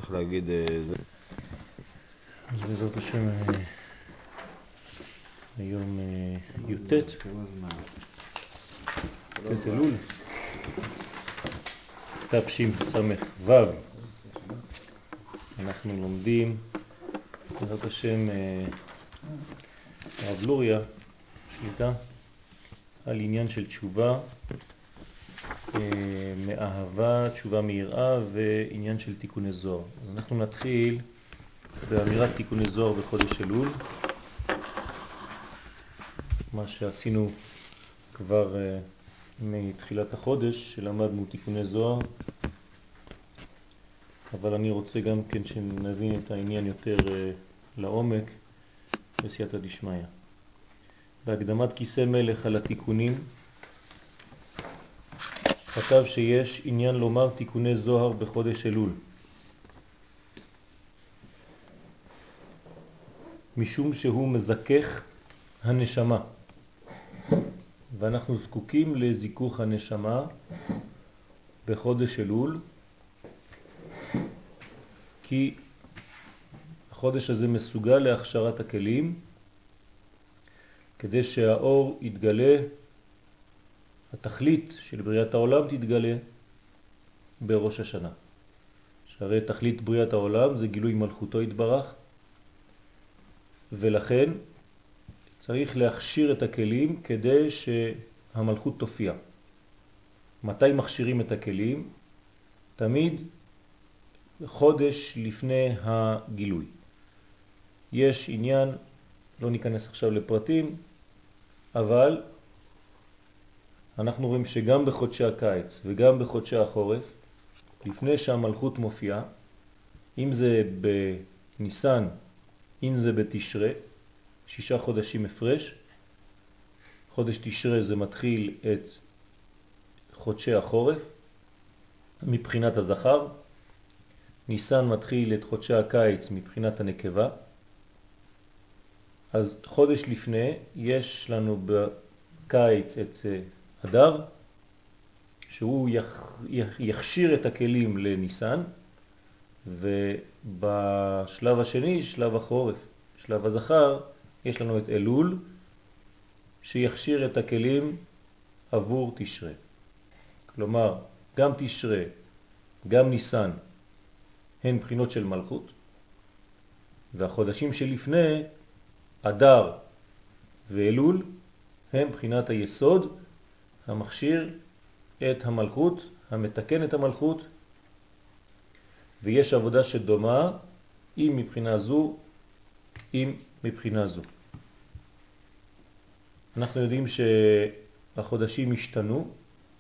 צריך להגיד זה. אז בעזרת השם היום י"ט אלול תשס"ו. אנחנו לומדים בעזרת השם הרב לוריה שליטה על עניין של תשובה מאהבה, תשובה מיראה ועניין של תיקוני זוהר. אז אנחנו נתחיל באמירת תיקוני זוהר בחודש אלול, מה שעשינו כבר מתחילת החודש, שלמדנו תיקוני זוהר, אבל אני רוצה גם כן שנבין את העניין יותר לעומק בסייעתא דשמיא. בהקדמת כיסא מלך על התיקונים כתב שיש עניין לומר תיקוני זוהר בחודש אלול, משום שהוא מזכך הנשמה, ואנחנו זקוקים לזיכוך הנשמה בחודש אלול, כי החודש הזה מסוגל להכשרת הכלים כדי שהאור יתגלה, התכלית של בריאת העולם תתגלה בראש השנה. שהרי תכלית בריאת העולם זה גילוי מלכותו יתברך, ולכן צריך להכשיר את הכלים כדי שהמלכות תופיע. מתי מכשירים את הכלים? תמיד חודש לפני הגילוי. יש עניין, לא ניכנס עכשיו לפרטים, אבל אנחנו רואים שגם בחודשי הקיץ וגם בחודשי החורף, לפני שהמלכות מופיעה, אם זה בניסן, אם זה בתשרה, 6 חודשים הפרש. חודש תשרה זה מתחיל את חודשי החורף מבחינת הזכר, ניסן מתחיל את חודשי הקיץ מבחינת הנקבה. אז חודש לפני יש לנו בקיץ את אדר, שהוא יכשיר את הכלים לניסן, ובשלב השני, שלב החורף, שלב הזכר, יש לנו את אלול, שיכשיר את הכלים עבור תשרה. כלומר, גם תשרה, גם ניסן, הן בחינות של מלכות, והחודשים שלפני, אדר ואלול, הם בחינת היסוד, המכשיר את המלכות, המתקן את המלכות, ויש עבודה שדומה, אם מבחינה זו, אם מבחינה זו. אנחנו יודעים שהחודשים השתנו.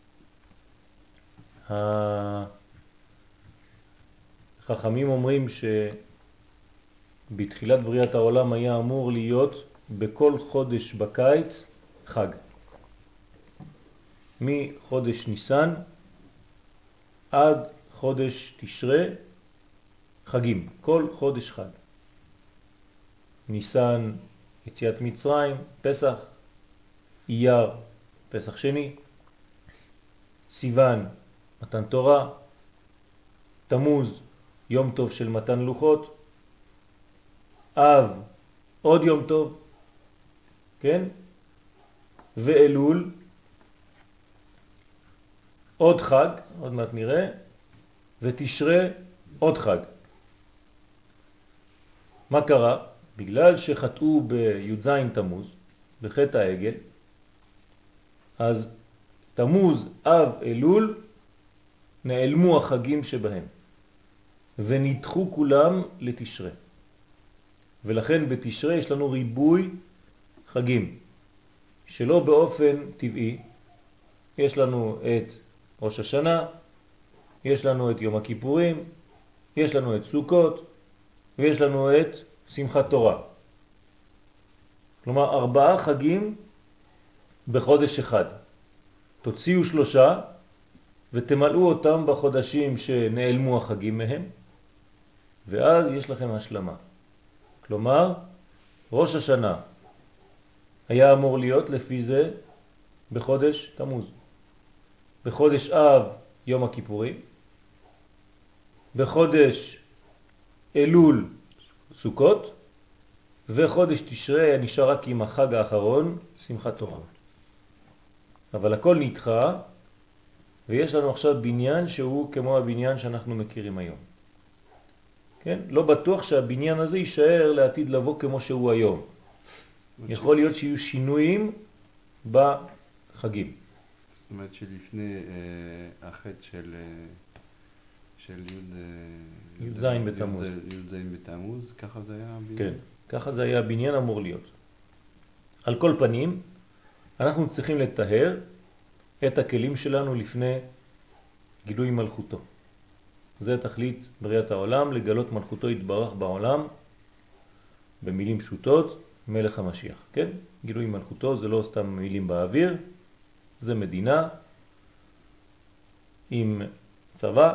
החכמים אומרים שבתחילת בריאת העולם היה אמור להיות בכל חודש בקיץ חג. מחודש ניסן עד חודש תשרה חגים, כל חודש חג. ניסן יציאת מצרים, פסח, אייר פסח שני, סיוון מתן תורה, תמוז יום טוב של מתן לוחות, אב עוד יום טוב, כן? ואלול עוד חג, עוד מעט נראה, ותשרה עוד חג. מה קרה? בגלל שחטאו בי"ז תמוז, בחטא העגל, אז תמוז, אב, אלול, נעלמו החגים שבהם, ונדחו כולם לתשרה. ולכן בתשרה יש לנו ריבוי חגים, שלא באופן טבעי. יש לנו את ראש השנה, יש לנו את יום הכיפורים, יש לנו את סוכות, ויש לנו את שמחת תורה. כלומר 4 חגים בחודש אחד. תוציאו 3 ותמלאו אותם בחודשים שנעלמו החגים מהם, ואז יש לכם השלמה. כלומר, ראש השנה היה אמור להיות לפי זה בחודש תמוז. בחודש אב יום הכיפורים, בחודש אלול סוכות, וחודש תשרי נשאר רק עם החג האחרון, שמחת תורה. אבל הכל נדחה, ויש לנו עכשיו בניין שהוא כמו הבניין שאנחנו מכירים היום. כן? לא בטוח שהבניין הזה יישאר לעתיד לבוא כמו שהוא היום. יכול להיות שיהיו שינויים בחגים. זאת אומרת שלפני החטא של י"ז בתמוז. י"ז בתמוז, ככה זה היה הבניין? כן, ככה זה היה הבניין אמור להיות. על כל פנים, אנחנו צריכים לטהר את הכלים שלנו לפני גילוי מלכותו. זה תכלית בריאת העולם, לגלות מלכותו יתברך בעולם, במילים פשוטות, מלך המשיח. כן? גילוי מלכותו זה לא סתם מילים באוויר, זה מדינה עם צבא,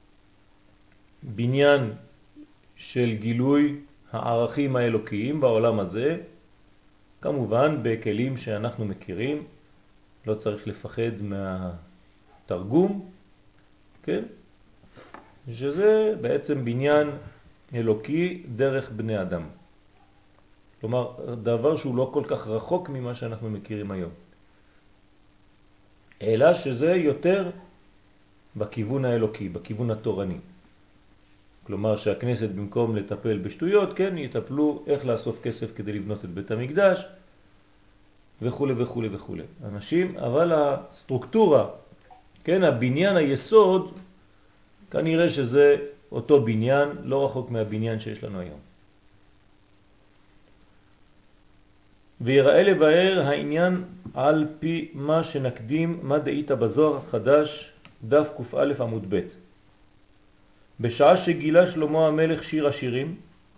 בניין של גילוי הערכים האלוקיים בעולם הזה, כמובן בכלים שאנחנו מכירים, לא צריך לפחד מהתרגום, כן? שזה בעצם בניין אלוקי דרך בני אדם. כלומר, דבר שהוא לא כל כך רחוק ממה שאנחנו מכירים היום. אלא שזה יותר בכיוון האלוקי, בכיוון התורני. כלומר שהכנסת במקום לטפל בשטויות, כן, יטפלו איך לאסוף כסף כדי לבנות את בית המקדש, וכו' וכו' וכו'. אנשים, אבל הסטרוקטורה, כן, הבניין היסוד, כנראה שזה אותו בניין, לא רחוק מהבניין שיש לנו היום. ויראה לבאר העניין על פי מה שנקדים, מה דאית בזוהר החדש, דף ק"א עמוד ב'. בשעה שגילה שלמה המלך שיר השירים,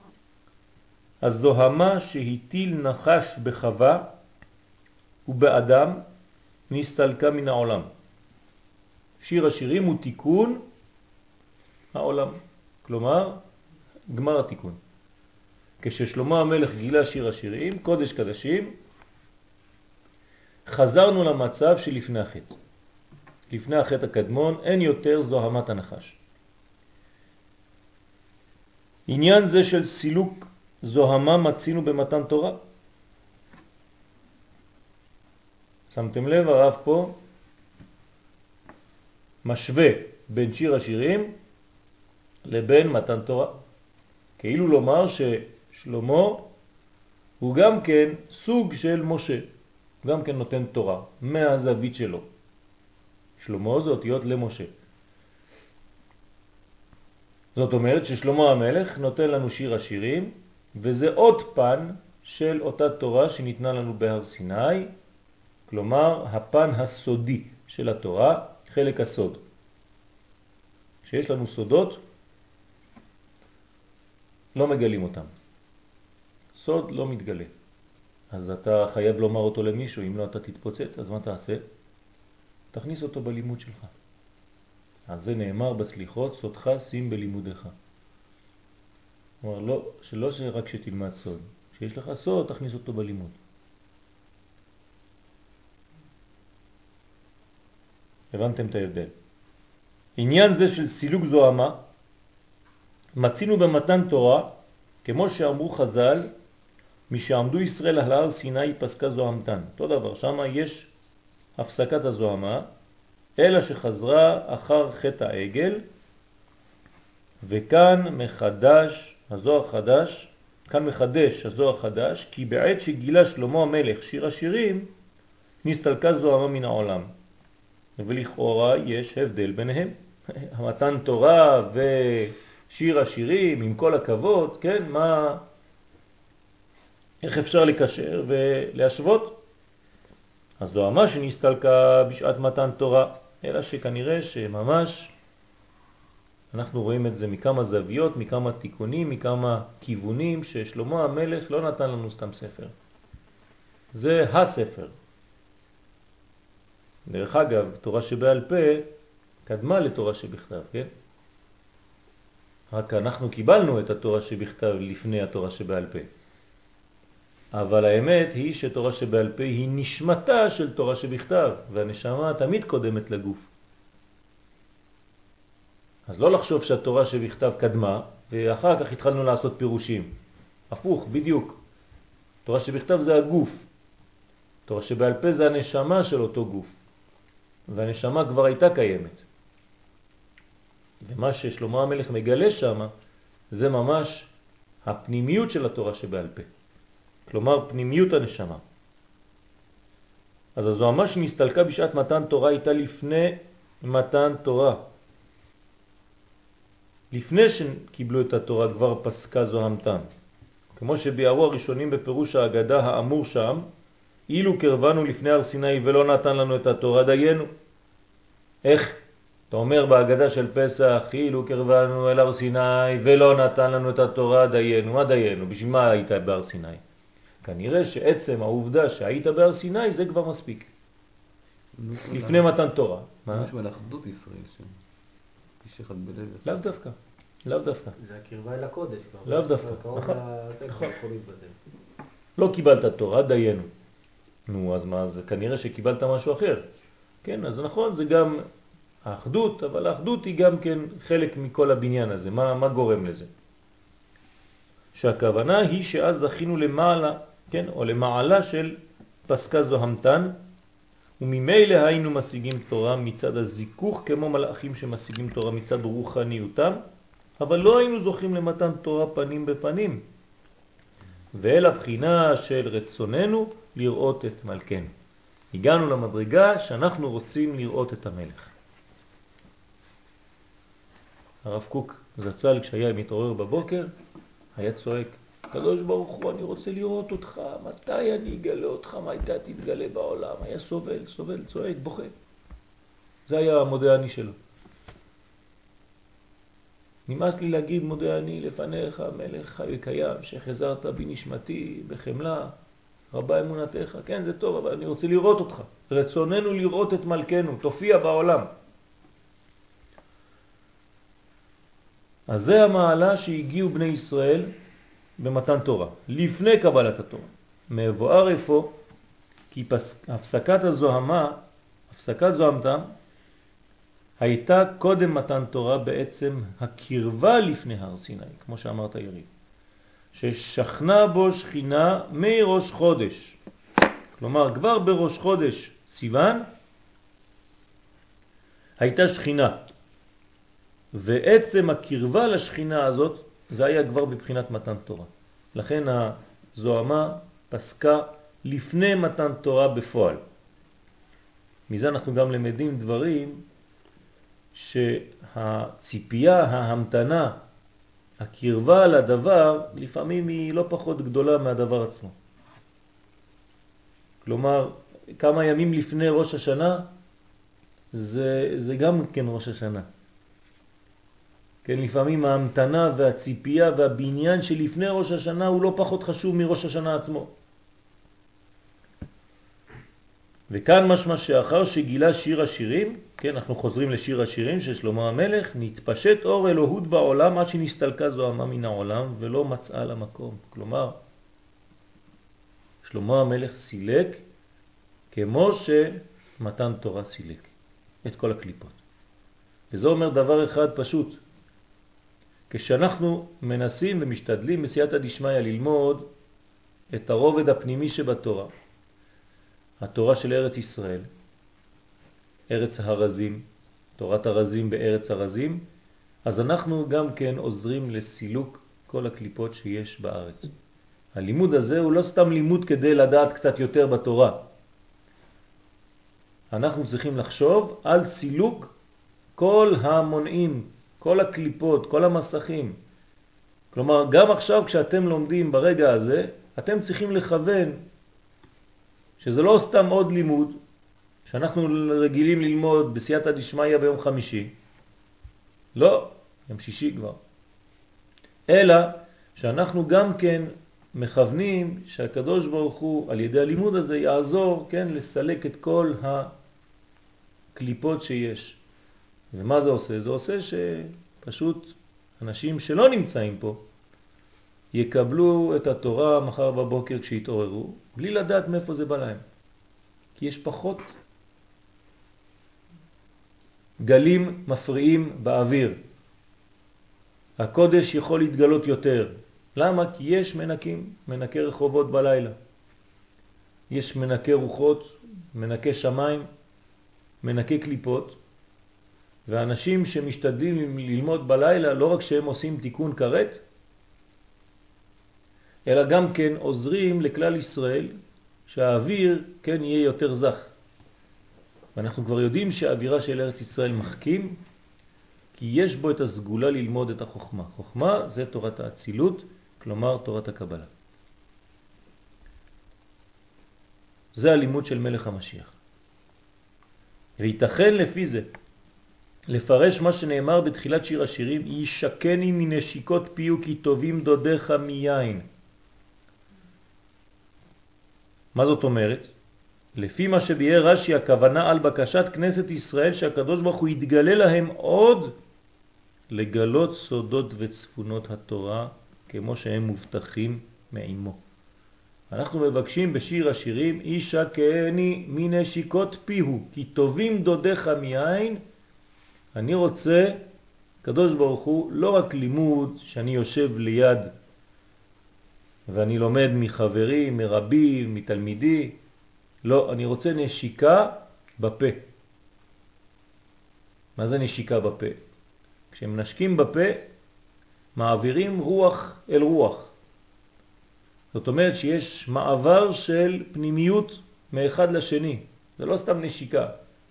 הזוהמה שהטיל נחש בחווה ובאדם נסתלקה מן העולם. שיר השירים הוא תיקון העולם, כלומר גמר התיקון. כששלמה המלך גילה שיר השירים, קודש קדשים, חזרנו למצב שלפני החטא. לפני החטא הקדמון אין יותר זוהמת הנחש. עניין זה של סילוק זוהמה מצינו במתן תורה. שמתם לב, הרב פה משווה בין שיר השירים לבין מתן תורה. כאילו לומר ששלמה הוא גם כן סוג של משה, גם כן נותן תורה מהזווית שלו. שלמה זה אותיות למשה. זאת אומרת ששלמה המלך נותן לנו שיר השירים, וזה עוד פן של אותה תורה שניתנה לנו בהר סיני, כלומר הפן הסודי של התורה, חלק הסוד. כשיש לנו סודות, לא מגלים אותם. סוד לא מתגלה. אז אתה חייב לומר אותו למישהו, אם לא אתה תתפוצץ, אז מה תעשה? תכניס אותו בלימוד שלך. אז זה נאמר בסליחות, סודך שים בלימודך. כלומר, לא רק שתלמד סוד. כשיש לך סוד, תכניס אותו בלימוד. הבנתם את ההבדל. עניין זה של סילוק זוהמה, מצינו במתן תורה, כמו שאמרו חז"ל, משעמדו ישראל על הר סיני פסקה זוהמתן. אותו דבר, שם יש הפסקת הזוהמה, אלא שחזרה אחר חטא העגל, וכאן מחדש הזוהר חדש, כאן מחדש הזוהר חדש, כי בעת שגילה שלמה המלך שיר השירים, נסתלקה זוהמה מן העולם. ולכאורה יש הבדל ביניהם. המתן תורה ושיר השירים, עם כל הכבוד, כן, איך אפשר לקשר ולהשוות? הזוהמה שנסתלקה בשעת מתן תורה, אלא שכנראה שממש אנחנו רואים את זה מכמה זוויות, מכמה תיקונים, מכמה כיוונים, ששלמה המלך לא נתן לנו סתם ספר. זה הספר. דרך אגב, תורה שבעל פה קדמה לתורה שבכתב, כן? רק אנחנו קיבלנו את התורה שבכתב לפני התורה שבעל פה. אבל האמת היא שתורה שבעל פה היא נשמתה של תורה שבכתב, והנשמה תמיד קודמת לגוף. אז לא לחשוב שהתורה שבכתב קדמה, ואחר כך התחלנו לעשות פירושים. הפוך, בדיוק. תורה שבכתב זה הגוף. תורה שבעל פה זה הנשמה של אותו גוף. והנשמה כבר הייתה קיימת. ומה ששלמה המלך מגלה שם, זה ממש הפנימיות של התורה שבעל פה. כלומר, פנימיות הנשמה. אז הזוהמה שנסתלקה בשעת מתן תורה הייתה לפני מתן תורה. לפני שקיבלו את התורה כבר פסקה זוהמתם. כמו שביארו הראשונים בפירוש ההגדה האמור שם, אילו קרבנו לפני הר סיני ולא נתן לנו את התורה דיינו. איך? אתה אומר בהגדה של פסח, אילו קרבנו אל הר סיני ולא נתן לנו את התורה דיינו. מה דיינו? בשביל מה היית בהר סיני? כנראה שעצם העובדה שהיית בהר סיני זה כבר מספיק. לפני מתן תורה. מה? משהו על אחדות ישראל שם. איש אחד בלב. לאו דווקא. לאו דווקא. זה הקרבה אל הקודש. לאו דווקא. נכון. לא קיבלת תורה, דיינו. נו, אז מה? אז כנראה שקיבלת משהו אחר. כן, אז נכון, זה גם האחדות, אבל האחדות היא גם כן חלק מכל הבניין הזה. מה גורם לזה? שהכוונה היא שאז זכינו למעלה, כן, או למעלה של פסקה זוהמתן, וממילא היינו משיגים תורה מצד הזיכוך כמו מלאכים שמשיגים תורה מצד רוחניותם, אבל לא היינו זוכים למתן תורה פנים בפנים, ואל הבחינה של רצוננו לראות את מלכנו. הגענו למדרגה שאנחנו רוצים לראות את המלך. הרב קוק זצ"ל כשהיה מתעורר בבוקר היה צועק, הקדוש ברוך הוא, אני רוצה לראות אותך, מתי אני אגלה אותך, מתי תתגלה בעולם? היה סובל, צועק, בוכה. זה היה המודה אני שלו. נמאס לי להגיד מודה אני לפניך, מלך חי וקיים, שחזרת בי נשמתי בחמלה, רבה אמונתך. כן, זה טוב, אבל אני רוצה לראות אותך. רצוננו לראות את מלכנו, תופיע בעולם. אז זה המעלה שהגיעו בני ישראל במתן תורה, לפני קבלת התורה. מבואר איפה, כי הפסקת זוהמתם, הייתה קודם מתן תורה בעצם הקרבה לפני הר סיני, כמו שאמרת יריב. ששכנה בו שכינה מראש חודש. כלומר, כבר בראש חודש סיוון הייתה שכינה. ועצם הקרבה לשכינה הזאת, זה היה כבר בבחינת מתן תורה. לכן הזוהמה פסקה לפני מתן תורה בפועל. מזה אנחנו גם למדים דברים שהציפייה, ההמתנה, הקרבה לדבר, לפעמים היא לא פחות גדולה מהדבר עצמו. כלומר, כמה ימים לפני ראש השנה, זה גם כן ראש השנה. כן, לפעמים ההמתנה והציפייה והבניין שלפני ראש השנה הוא לא פחות חשוב מראש השנה עצמו. וכאן משמע שאחר שגילה שיר השירים, כן, אנחנו חוזרים לשיר השירים של שלמה המלך, נתפשט אור אלוהות בעולם עד שנסתלקה זוהמה מן העולם ולא מצאה לה מקום. כלומר, שלמה המלך סילק כמו שמתן תורה סילק את כל הקליפות. וזה אומר דבר אחד פשוט. כשאנחנו מנסים ומשתדלים בסייעתא דשמיא ללמוד את הרובד הפנימי שבתורה, התורה של ארץ ישראל, ארץ הרזים, תורת הרזים בארץ הרזים, אז אנחנו גם כן עוזרים לסילוק כל הקליפות שיש בארץ. הלימוד הזה הוא לא סתם לימוד כדי לדעת קצת יותר בתורה. אנחנו צריכים לחשוב על סילוק כל המונעים, כל הקליפות, כל המסכים. כלומר, גם עכשיו כשאתם לומדים ברגע הזה, אתם צריכים לכוון שזה לא סתם עוד לימוד, שאנחנו רגילים ללמוד בסייעתא דשמיא ביום חמישי. לא, יום שישי כבר. אלא שאנחנו גם כן מכוונים שהקדוש ברוך הוא על ידי הלימוד הזה יעזור, כן, לסלק את כל הקליפות שיש. ומה זה עושה? זה עושה שפשוט אנשים שלא נמצאים פה יקבלו את התורה מחר בבוקר כשיתעוררו, בלי לדעת מאיפה זה בא להם. כי יש פחות גלים מפריעים באוויר. הקודש יכול להתגלות יותר. למה? כי יש מנקים, מנקי רחובות בלילה. יש מנקי רוחות, מנקי שמיים, מנקי קליפות, ואנשים שמשתדלים ללמוד בלילה, לא רק שהם עושים תיקון כרת, אלא גם כן עוזרים לכלל ישראל שהאוויר כן יהיה יותר זך. ואנחנו כבר יודעים שהאווירה של ארץ ישראל מחכים, כי יש בו את הסגולה ללמוד את החוכמה. חוכמה זה תורת האצילות, כלומר תורת הקבלה. זה הלימוד של מלך המשיח. וייתכן לפי זה לפרש מה שנאמר בתחילת שיר השירים, ישקני מנשיקות פיו כי טובים דודיך מיין. מה זאת אומרת? לפי מה שביאר רש"י, הכוונה על בקשת כנסת ישראל שהקדוש ברוך הוא יתגלה להם עוד לגלות סודות וצפונות התורה כמו שהם מובטחים מעמו. אנחנו מבקשים בשיר השירים, ישקני מנשיקות פיהו כי טובים דודיך מיין. אני רוצה, קדוש ברוך הוא, לא רק לימוד שאני יושב ליד ואני לומד מחברי, מרבי, מתלמידי, לא, אני רוצה נשיקה בפה. מה זה נשיקה בפה? כשמנשקים בפה, מעבירים רוח אל רוח. זאת אומרת שיש מעבר של פנימיות מאחד לשני. זה לא סתם נשיקה.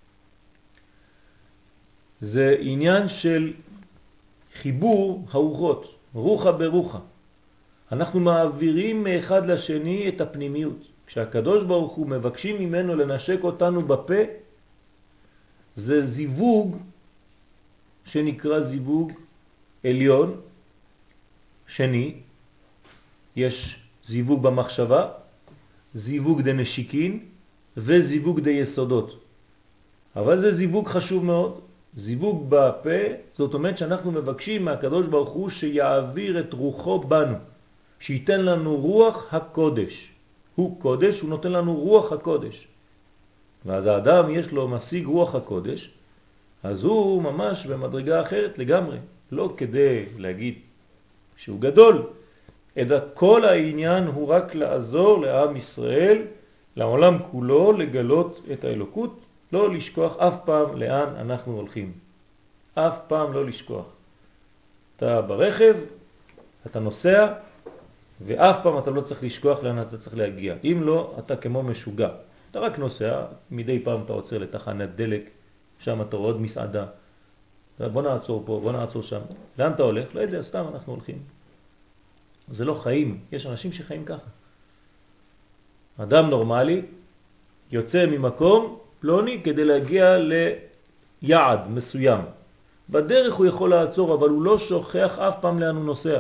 זה עניין של חיבור הרוחות, רוחה ברוחה. אנחנו מעבירים מאחד לשני את הפנימיות. כשהקדוש ברוך הוא מבקשים ממנו לנשק אותנו בפה, זה זיווג שנקרא זיווג עליון שני. יש זיווג במחשבה, זיווג דנשיקין וזיווג דיסודות. אבל זה זיווג חשוב מאוד. זיווג בפה, זאת אומרת שאנחנו מבקשים מהקדוש ברוך הוא שיעביר את רוחו בנו, שייתן לנו רוח הקודש. הוא קודש, הוא נותן לנו רוח הקודש. ואז האדם יש לו משיג רוח הקודש, אז הוא ממש במדרגה אחרת לגמרי. לא כדי להגיד שהוא גדול, אלא כל העניין הוא רק לעזור לעם ישראל, לעולם כולו, לגלות את האלוקות, לא לשכוח אף פעם לאן אנחנו הולכים. אף פעם לא לשכוח. אתה ברכב, אתה נוסע, ואף פעם אתה לא צריך לשכוח לאן אתה צריך להגיע. אם לא, אתה כמו משוגע. אתה רק נוסע, מדי פעם אתה עוצר לתחנת דלק, שם אתה רואה עוד מסעדה. בוא נעצור פה, בוא נעצור שם. לאן אתה הולך? לא יודע, סתם אנחנו הולכים. זה לא חיים. יש אנשים שחיים ככה. אדם נורמלי יוצא ממקום פלוני כדי להגיע ליעד מסוים. בדרך הוא יכול לעצור, אבל הוא לא שוכח אף פעם לאן הוא נוסע.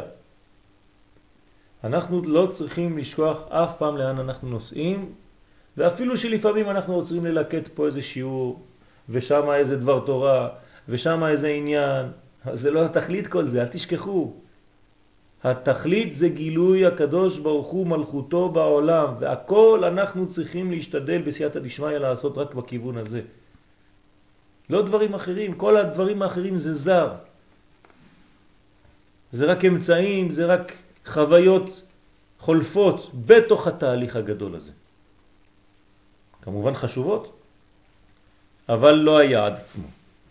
אנחנו לא צריכים לשכוח אף פעם לאן אנחנו נוסעים, ואפילו שלפעמים אנחנו רוצים ללקט פה איזה שיעור, ושם איזה דבר תורה, ושם איזה עניין. זה לא התכלית כל זה, אל תשכחו. התכלית זה גילוי הקדוש ברוך הוא מלכותו בעולם, והכל אנחנו צריכים להשתדל בסייעתא דשמיא לעשות רק בכיוון הזה. לא דברים אחרים, כל הדברים האחרים זה זר. זה רק אמצעים, זה רק חוויות חולפות בתוך התהליך הגדול הזה. כמובן חשובות, אבל לא היעד עצמו.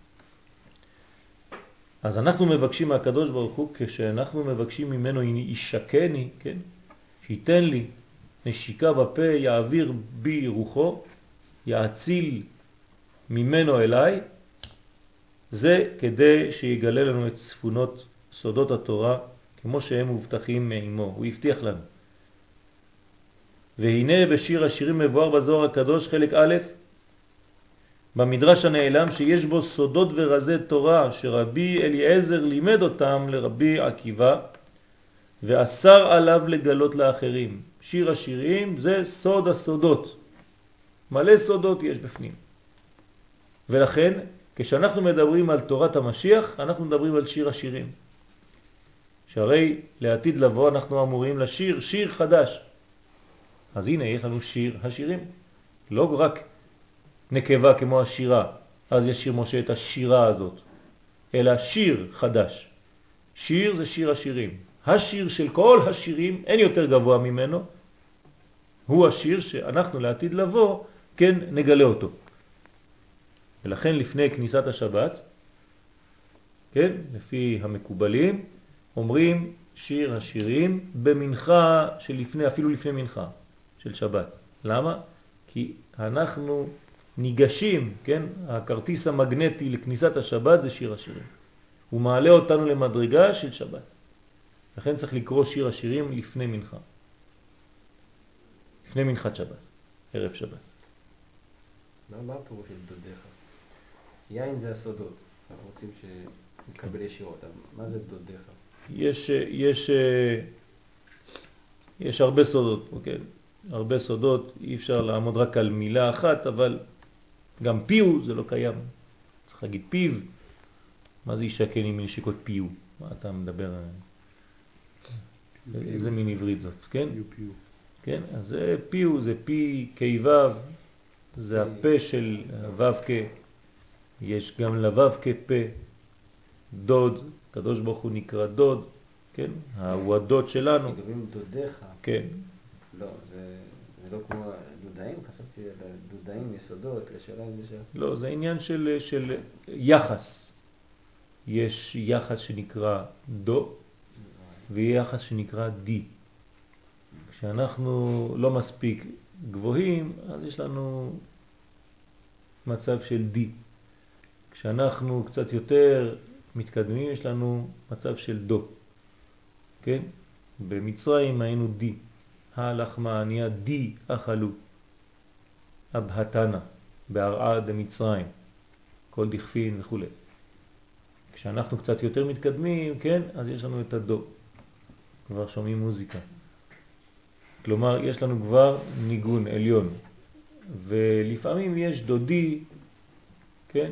אז אנחנו מבקשים מהקדוש ברוך הוא, כשאנחנו מבקשים ממנו ישקני, כן? שייתן לי נשיקה בפה, יעביר בי רוחו, יאציל ממנו אליי, זה כדי שיגלה לנו את צפונות סודות התורה, כמו שהם מובטחים מעמו. הוא הבטיח לנו. והנה בשיר השירים מבואר בזוהר הקדוש חלק א', במדרש הנעלם שיש בו סודות ורזי תורה שרבי אליעזר לימד אותם לרבי עקיבא ואסר עליו לגלות לאחרים. שיר השירים זה סוד הסודות. מלא סודות יש בפנים. ולכן כשאנחנו מדברים על תורת המשיח אנחנו מדברים על שיר השירים. שהרי לעתיד לבוא אנחנו אמורים לשיר שיר חדש. אז הנה יש לנו שיר השירים. לא רק נקבה כמו השירה, אז ישיר משה את השירה הזאת, אלא שיר חדש. שיר זה שיר השירים. השיר של כל השירים, אין יותר גבוה ממנו, הוא השיר שאנחנו לעתיד לבוא, כן, נגלה אותו. ולכן לפני כניסת השבת, כן, לפי המקובלים, אומרים שיר השירים במנחה שלפני, אפילו לפני מנחה של שבת. למה? כי אנחנו ניגשים, כן, הכרטיס המגנטי לכניסת השבת זה שיר השירים. הוא מעלה אותנו למדרגה של שבת. לכן צריך לקרוא שיר השירים לפני מנחה. לפני מנחת שבת, ערב שבת. מה הפירוש של דודיך? יין זה הסודות. אנחנו רוצים שנקבל ישירות. מה זה דודיך? יש הרבה סודות, אוקיי? הרבה סודות, אי אפשר לעמוד רק על מילה אחת, אבל גם פיו זה לא קיים. צריך להגיד פיו. מה זה ישכן עם נשיקות פיו? מה אתה מדבר? איזה מין עברית זאת, כן? פיו. כן, אז זה פיו, זה פי כיוו, זה הפה של וו כ. יש גם לבב כפה, דוד, קדוש ברוך הוא נקרא דוד, כן? הוא הדוד שלנו. מדברים דודיך. כן. לא, זה לא כמו דודאים, חשבתי על דודאים, יסודות, לשאלה אם זה שם. לא, זה עניין של יחס. יש יחס שנקרא דו, ויחס שנקרא די. כשאנחנו לא מספיק גבוהים, אז יש לנו מצב של די. כשאנחנו קצת יותר מתקדמים, יש לנו מצב של דו. כן? במצרים היינו די. הלחמה נהיה די אכלו. אבהתנה, בהרעה דמצרים. כל דכפין וכו'. כשאנחנו קצת יותר מתקדמים, כן? אז יש לנו את הדו. כבר שומעים מוזיקה. כלומר, יש לנו כבר ניגון עליון. ולפעמים יש דודי, כן?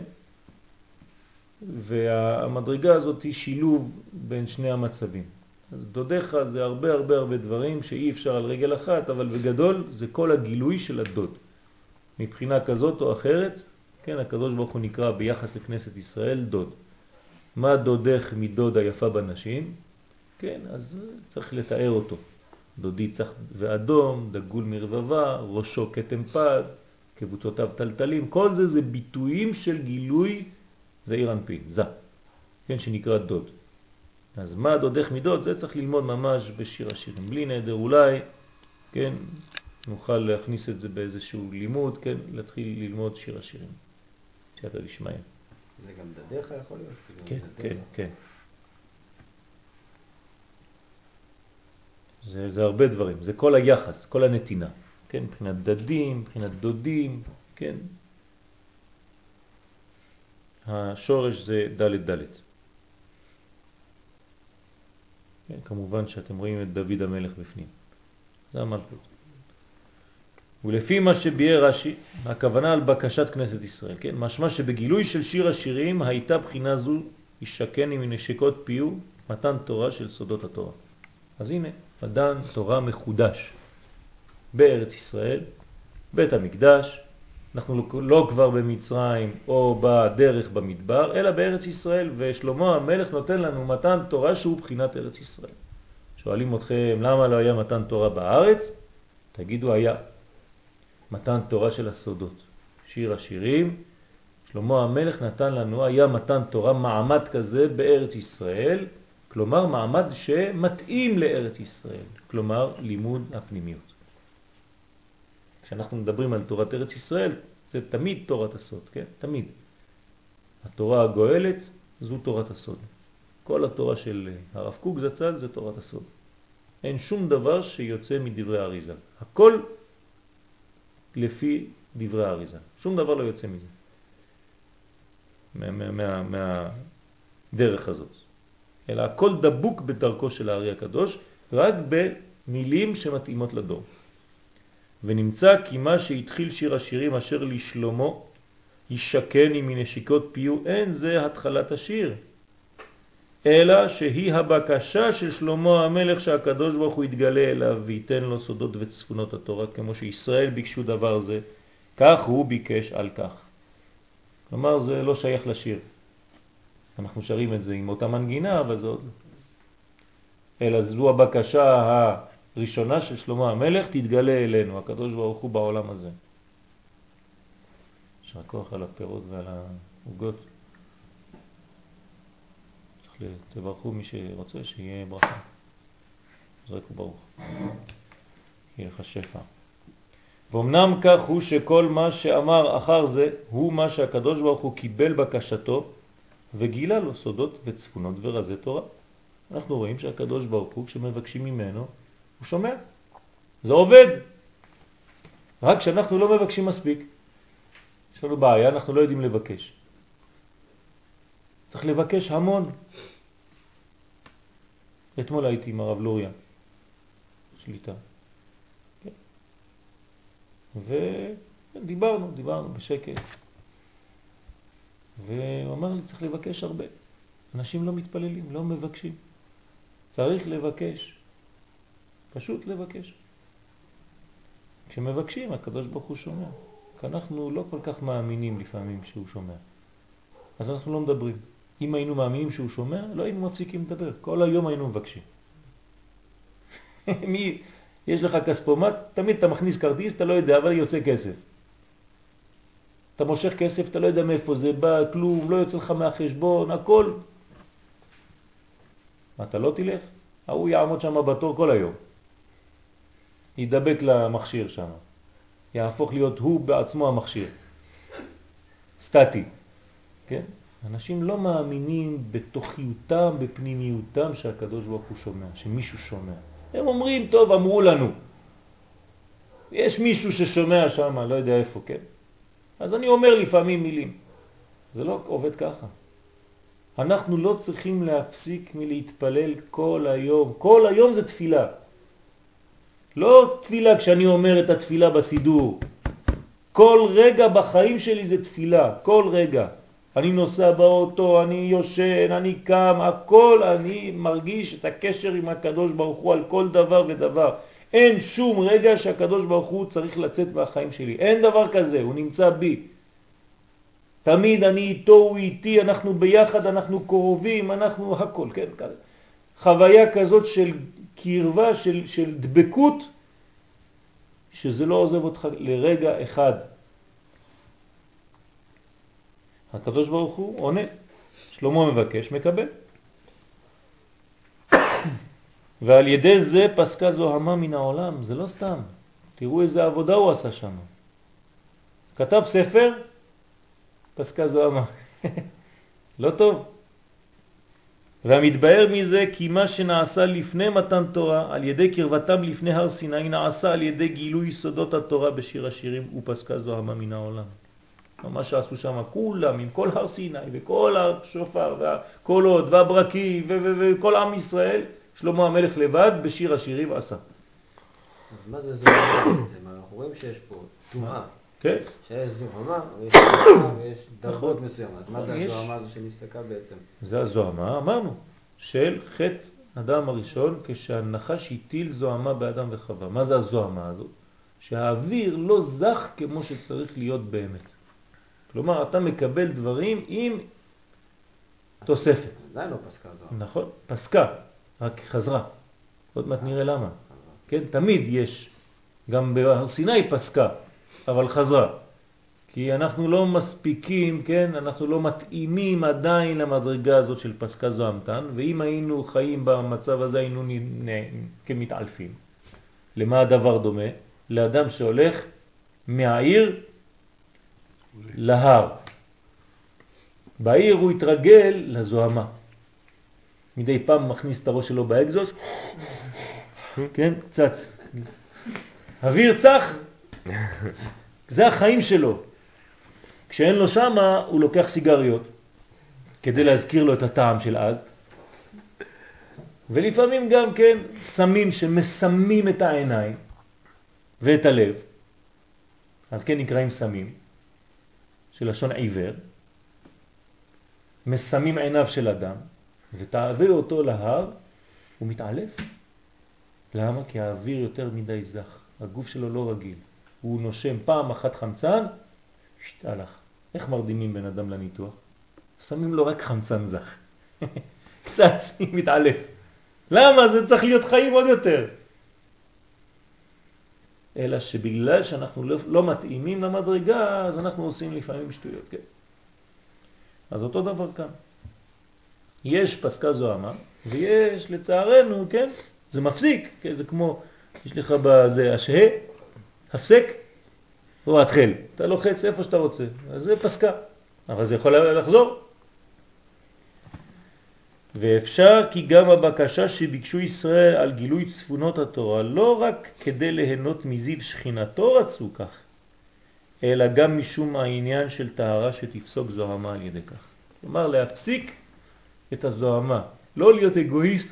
והמדרגה הזאת היא שילוב בין שני המצבים. אז דודיך זה הרבה הרבה הרבה דברים שאי אפשר על רגל אחת, אבל בגדול זה כל הגילוי של הדוד. מבחינה כזאת או אחרת, כן, הקדוש ברוך הוא נקרא ביחס לכנסת ישראל דוד. מה דודך מדוד היפה בנשים? כן, אז צריך לתאר אותו. דודי צח ואדום, דגול מרבבה, ראשו כתם פז, קבוצותיו טלטלים, כל זה זה ביטויים של גילוי זעיר אנפין, זה, כן, שנקרא דוד. אז מה דודך מדוד? זה צריך ללמוד ממש בשיר השירים. בלי נדר אולי, כן, נוכל להכניס את זה באיזשהו לימוד, כן, להתחיל ללמוד שיר השירים. שאתה לשמיים. זה גם דדיך יכול להיות? כן, כן, כן. זה הרבה דברים, זה כל היחס, כל הנתינה, כן, מבחינת דדים, מבחינת דודים, כן. השורש זה ד' ד'. כן, כמובן שאתם רואים את דוד המלך בפנים. זה המלכות. ולפי מה שביאר רש"י, הכוונה על בקשת כנסת ישראל, כן? משמע שבגילוי של שיר השירים הייתה בחינה זו ישכן עם נשיקות פיו מתן תורה של סודות התורה. אז הנה, מתן תורה מחודש בארץ ישראל, בית המקדש, אנחנו לא כבר במצרים או בדרך במדבר, אלא בארץ ישראל, ושלמה המלך נותן לנו מתן תורה שהוא בחינת ארץ ישראל. שואלים אתכם למה לא היה מתן תורה בארץ? תגידו היה. מתן תורה של הסודות. שיר השירים, שלמה המלך נתן לנו, היה מתן תורה מעמד כזה בארץ ישראל, כלומר מעמד שמתאים לארץ ישראל, כלומר לימוד הפנימיות. כשאנחנו מדברים על תורת ארץ ישראל, זה תמיד תורת הסוד, כן? תמיד. התורה הגואלת זו תורת הסוד. כל התורה של הרב קוק זצ"ל זה תורת הסוד. אין שום דבר שיוצא מדברי האריז"ל. הכל לפי דברי האריז"ל. שום דבר לא יוצא מזה. מהדרך הזאת. אלא הכל דבוק בדרכו של הארי הקדוש, רק במילים שמתאימות לדור. ונמצא כי מה שהתחיל שיר השירים אשר לשלמה ישכן עם מנשיקות פיו, אין זה התחלת השיר, אלא שהיא הבקשה של שלמה המלך שהקדוש ברוך הוא יתגלה אליו וייתן לו סודות וצפונות התורה, כמו שישראל ביקשו דבר זה, כך הוא ביקש על כך. כלומר זה לא שייך לשיר. אנחנו שרים את זה עם אותה מנגינה, אבל אלא זו הבקשה הראשונה של שלמה המלך, תתגלה אלינו, הקדוש ברוך הוא בעולם הזה. יישר כוח על הפירות ועל העוגות. תברכו מי שרוצה שיהיה ברכה. זרקו ברוך. יהיה לך שפע. ואומנם כך הוא שכל מה שאמר אחר זה הוא מה שהקדוש ברוך הוא קיבל בקשתו וגילה לו סודות וצפונות ורזי תורה. אנחנו רואים שהקדוש ברוך הוא כשמבקשים ממנו הוא שומע. זה עובד. רק שאנחנו לא מבקשים מספיק. יש לנו בעיה, אנחנו לא יודעים לבקש. צריך לבקש המון. אתמול הייתי עם הרב לוריה, שליטה. ודיברנו בשקט. והוא אמר לי, צריך לבקש הרבה. אנשים לא מתפללים, לא מבקשים. צריך לבקש. פשוט לבקש. כשמבקשים, הקדוש ברוך הוא שומע. כי אנחנו לא כל כך מאמינים לפעמים שהוא שומע. אז אנחנו לא מדברים. אם היינו מאמינים שהוא שומע, לא היינו מפסיקים לדבר. כל היום היינו מבקשים. יש לך כספומט, תמיד אתה מכניס כרטיס, אתה לא יודע, אבל יוצא כסף. אתה מושך כסף, אתה לא יודע מאיפה זה בא, כלום, לא יוצא לך מהחשבון, הכל. אתה לא תלך? הוא יעמוד שם בתור כל היום. ידבק למכשיר שם. יהפוך להיות הוא בעצמו המכשיר. סטטי. כן? אנשים לא מאמינים בתוכיותם, בפנימיותם שהקדוש ברוך הוא שומע, שמישהו שומע. הם אומרים, טוב, אמרו לנו. יש מישהו ששומע שם, לא יודע איפה, כן? אז אני אומר לפעמים מילים. זה לא עובד ככה. אנחנו לא צריכים להפסיק מלהתפלל כל היום. כל היום זה תפילה. לא תפילה כשאני אומר את התפילה בסידור. כל רגע בחיים שלי זה תפילה. כל רגע. אני נוסע באוטו, אני יושן, אני קם, הכל אני מרגיש את הקשר עם הקדוש ברוך הוא על כל דבר ודבר. אין שום רגע שהקדוש ברוך הוא צריך לצאת מהחיים שלי. אין דבר כזה, הוא נמצא בי. תמיד אני איתו, הוא איתי, אנחנו ביחד, אנחנו קרובים, אנחנו הכל, כן? חוויה כזאת של קרבה, של דבקות, שזה לא עוזב אותך לרגע אחד. הקדוש ברוך הוא עונה, שלמה מבקש, מקבל. ועל ידי זה פסקה זוהמה מן העולם, זה לא סתם. תראו איזה עבודה הוא עשה שם. כתב ספר, פסקה זוהמה. לא טוב. והמתבהר מזה כי מה שנעשה לפני מתן תורה, על ידי קרבתם לפני הר סיני, נעשה על ידי גילוי סודות התורה בשיר השירים ופסקה זוהמה מן העולם. מה שעשו שם כולם, עם כל הר סיני וכל השופר והקולות והברקים וכל עם ישראל, שלמה המלך לבד בשיר השירים עשה. מה זה זוהמה בעצם? אנחנו רואים שיש פה תנועה. כן. שיש זוהמה ויש תנועה ויש דרגות מסוימות. מה זה הזוהמה הזו שנפסקה בעצם? זה הזוהמה, אמרנו, של חטא אדם הראשון כשהנחש הטיל זוהמה באדם וחווה. מה זה הזוהמה הזו? שהאוויר לא זך כמו שצריך להיות באמת. כלומר, אתה מקבל דברים עם תוספת. זה לא פסקה זו. נכון, פסקה, רק חזרה. עוד מעט נראה למה. כן, תמיד יש, גם בהר סיני פסקה, אבל חזרה. כי אנחנו לא מספיקים, כן, אנחנו לא מתאימים עדיין למדרגה הזאת של פסקה זוהמתן, ואם היינו חיים במצב הזה היינו כמתעלפים. למה הדבר דומה? לאדם שהולך מהעיר להר. בעיר הוא התרגל לזוהמה. מדי פעם מכניס את הראש שלו באקזוס, כן, קצת. אוויר צח, זה החיים שלו. כשאין לו שמה, הוא לוקח סיגריות, כדי להזכיר לו את הטעם של אז. ולפעמים גם כן, סמים שמסמים את העיניים ואת הלב, על כן נקראים סמים, של לשון עיוור, מסמים עיניו של אדם, ותעביר אותו להר, הוא מתעלף. למה? כי האוויר יותר מדי זך, הגוף שלו לא רגיל. הוא נושם פעם אחת חמצן, הלך. איך מרדימים בן אדם לניתוח? שמים לו רק חמצן זך. קצת, מתעלף. למה? זה צריך להיות חיים עוד יותר. אלא שבגלל שאנחנו לא מתאימים למדרגה, אז אנחנו עושים לפעמים שטויות, כן? אז אותו דבר כאן. יש פסקה זוהמה, ויש לצערנו, כן? זה מפסיק, כן? זה כמו, יש לך בזה השהה, הפסק, או התחל. אתה לוחץ איפה שאתה רוצה, אז זה פסקה. אבל זה יכול לחזור. ואפשר כי גם הבקשה שביקשו ישראל על גילוי צפונות התורה, לא רק כדי ליהנות מזיו שכינתו רצו כך, אלא גם משום העניין של טהרה שתפסוק זוהמה על ידי כך. כלומר, להפסיק את הזוהמה, לא להיות אגואיסט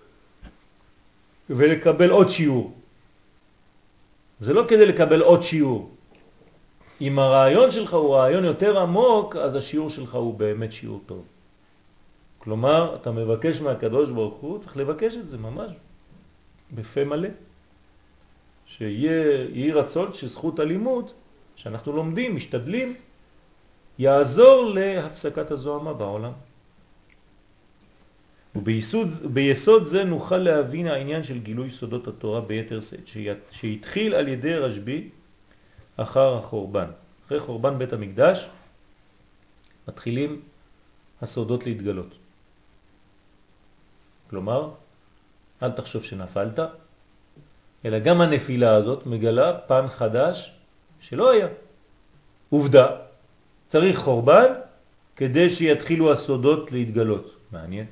ולקבל עוד שיעור. זה לא כדי לקבל עוד שיעור. אם הרעיון שלך הוא רעיון יותר עמוק, אז השיעור שלך הוא באמת שיעור טוב. כלומר, אתה מבקש מהקדוש ברוך הוא, צריך לבקש את זה ממש בפה מלא. שיהיה רצון שזכות הלימוד, שאנחנו לומדים, משתדלים, יעזור להפסקת הזוהמה בעולם. וביסוד זה נוכל להבין העניין של גילוי סודות התורה ביתר שאת, שהתחיל על ידי רשב"י אחר החורבן. אחרי חורבן בית המקדש מתחילים הסודות להתגלות. כלומר, אל תחשוב שנפלת, אלא גם הנפילה הזאת מגלה פן חדש שלא היה. עובדה, צריך חורבן כדי שיתחילו הסודות להתגלות. מעניין.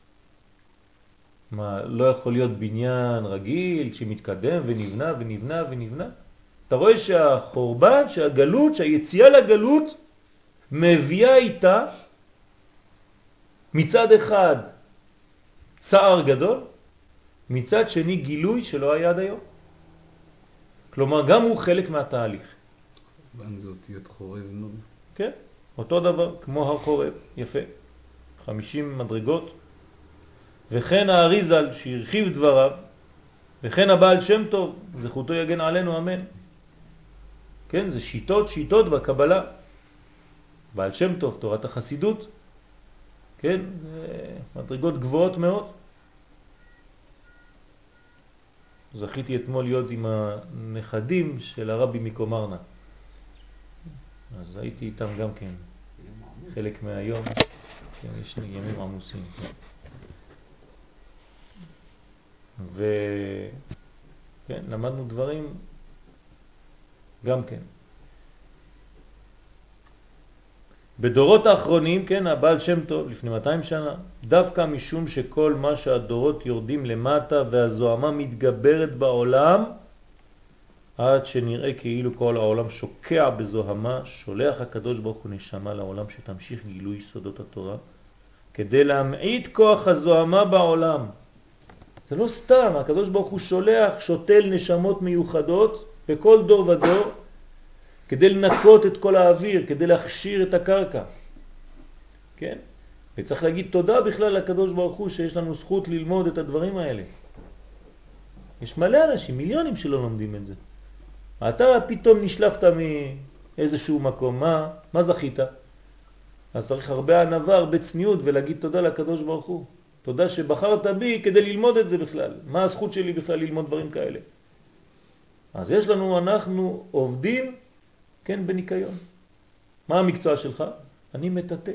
מה, לא יכול להיות בניין רגיל שמתקדם ונבנה ונבנה ונבנה? אתה רואה שהחורבן, שהגלות, שהיציאה לגלות מביאה איתה מצד אחד צער גדול, מצד שני גילוי שלא היה עד היום. כלומר, גם הוא חלק מהתהליך. חורבן זה אותיות חורב נון. כן, אותו דבר, כמו הר חורב, יפה. 50 מדרגות. וכן האריזל שהרחיב דבריו, וכן הבעל שם טוב, זכותו יגן עלינו, אמן. כן, זה שיטות בקבלה. בעל שם טוב, תורת החסידות, כן, מדרגות גבוהות מאוד. זכיתי אתמול להיות עם הנכדים של הרבי מקומרנה. אז הייתי איתם גם כן, חלק מהיום, כן, יש ימים עמוסים. וכן, למדנו דברים גם כן. בדורות האחרונים, כן, הבעל שם טוב, לפני 200 שנה, דווקא משום שכל מה שהדורות יורדים למטה והזוהמה מתגברת בעולם, עד שנראה כאילו כל העולם שוקע בזוהמה, שולח הקדוש ברוך הוא נשמה לעולם שתמשיך גילוי סודות התורה, כדי להמעיט כוח הזוהמה בעולם. זה לא סתם, הקדוש ברוך הוא שולח, שותל נשמות מיוחדות בכל דור ודור, כדי לנקות את כל האוויר, כדי להכשיר את הקרקע. כן? וצריך להגיד תודה בכלל לקדוש ברוך הוא שיש לנו זכות ללמוד את הדברים האלה. יש מלא אנשים, מיליונים שלא לומדים את זה. אתה פתאום נשלפת מאיזשהו מקום, מה זכית? אז צריך הרבה ענווה, הרבה צניעות ולהגיד תודה לקדוש ברוך הוא. תודה שבחרת בי כדי ללמוד את זה בכלל. מה הזכות שלי בכלל ללמוד דברים כאלה? אז יש לנו, אנחנו עובדים, כן, בניקיון. מה המקצוע שלך? אני מטאטא.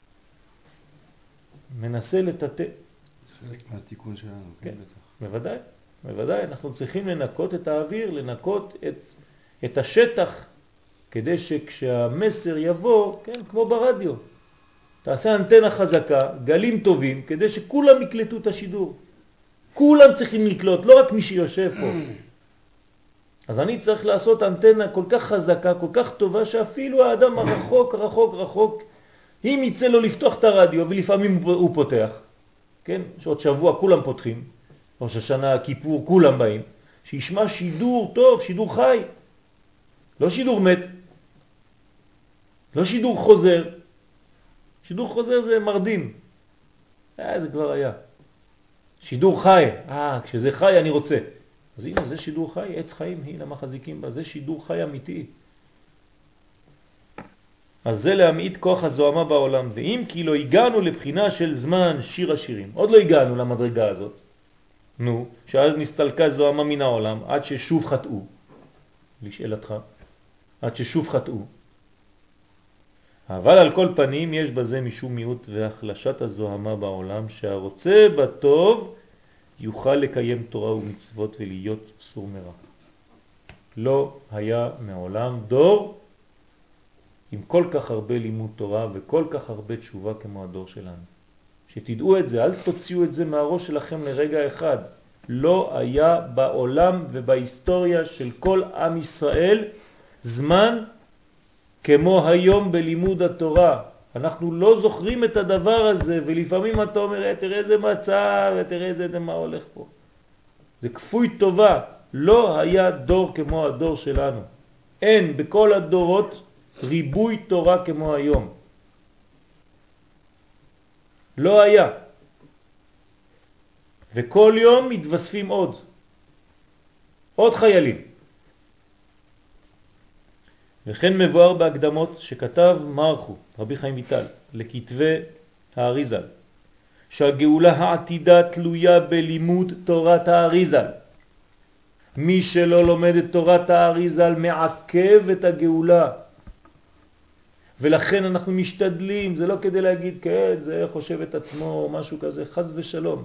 מנסה לטאטא. זה חלק מהתיקון שלנו, כן, בטח. בוודאי, בוודאי. אנחנו צריכים לנקות את האוויר, לנקות את השטח, כדי שכשהמסר יבוא, כן, כמו ברדיו, תעשה אנטנה חזקה, גלים טובים, כדי שכולם יקלטו את השידור. כולם צריכים לקלוט, לא רק מי שיושב פה. אז אני צריך לעשות אנטנה כל כך חזקה, כל כך טובה, שאפילו האדם הרחוק, רחוק, רחוק, אם יצא לו לפתוח את הרדיו, ולפעמים הוא פותח, כן? שעוד שבוע כולם פותחים, ראש השנה, כיפור, כולם באים, שישמע שידור טוב, שידור חי, לא שידור מת, לא שידור חוזר. שידור חוזר זה מרדים. זה כבר היה. שידור חי. כשזה חי אני רוצה. אז הנה, זה שידור חי, עץ חיים, הנה מה חזיקים בה, זה שידור חי אמיתי. אז זה להמעיט כוח הזוהמה בעולם, ואם כי לא הגענו לבחינה של זמן שיר השירים, עוד לא הגענו למדרגה הזאת, נו, שאז נסתלקה זוהמה מן העולם עד ששוב חטאו. לשאלתך, עד ששוב חטאו. אבל על כל פנים יש בזה משום מיעוט והחלשת הזוהמה בעולם, שהרוצה בטוב יוכל לקיים תורה ומצוות ולהיות סור מרע. לא היה מעולם דור עם כל כך הרבה לימוד תורה וכל כך הרבה תשובה כמו הדור שלנו. שתדעו את זה, אל תוציאו את זה מהראש שלכם לרגע אחד. לא היה בעולם ובהיסטוריה של כל עם ישראל זמן כמו היום בלימוד התורה. אנחנו לא זוכרים את הדבר הזה, ולפעמים אתה אומר, תראה איזה מצב, תראה איזה מה הולך פה. זה כפוי טובה. לא היה דור כמו הדור שלנו. אין בכל הדורות ריבוי תורה כמו היום. לא היה. וכל יום מתווספים עוד חיילים. וכן מבואר בהקדמות שכתב מרחו, רבי חיים ויטל, לכתבי האריזל, שהגאולה העתידה תלויה בלימוד תורת האריזל. מי שלא לומד את תורת האריזל מעכב את הגאולה. ולכן אנחנו משתדלים, זה לא כדי להגיד, כן, זה חושב את עצמו או משהו כזה, חס ושלום.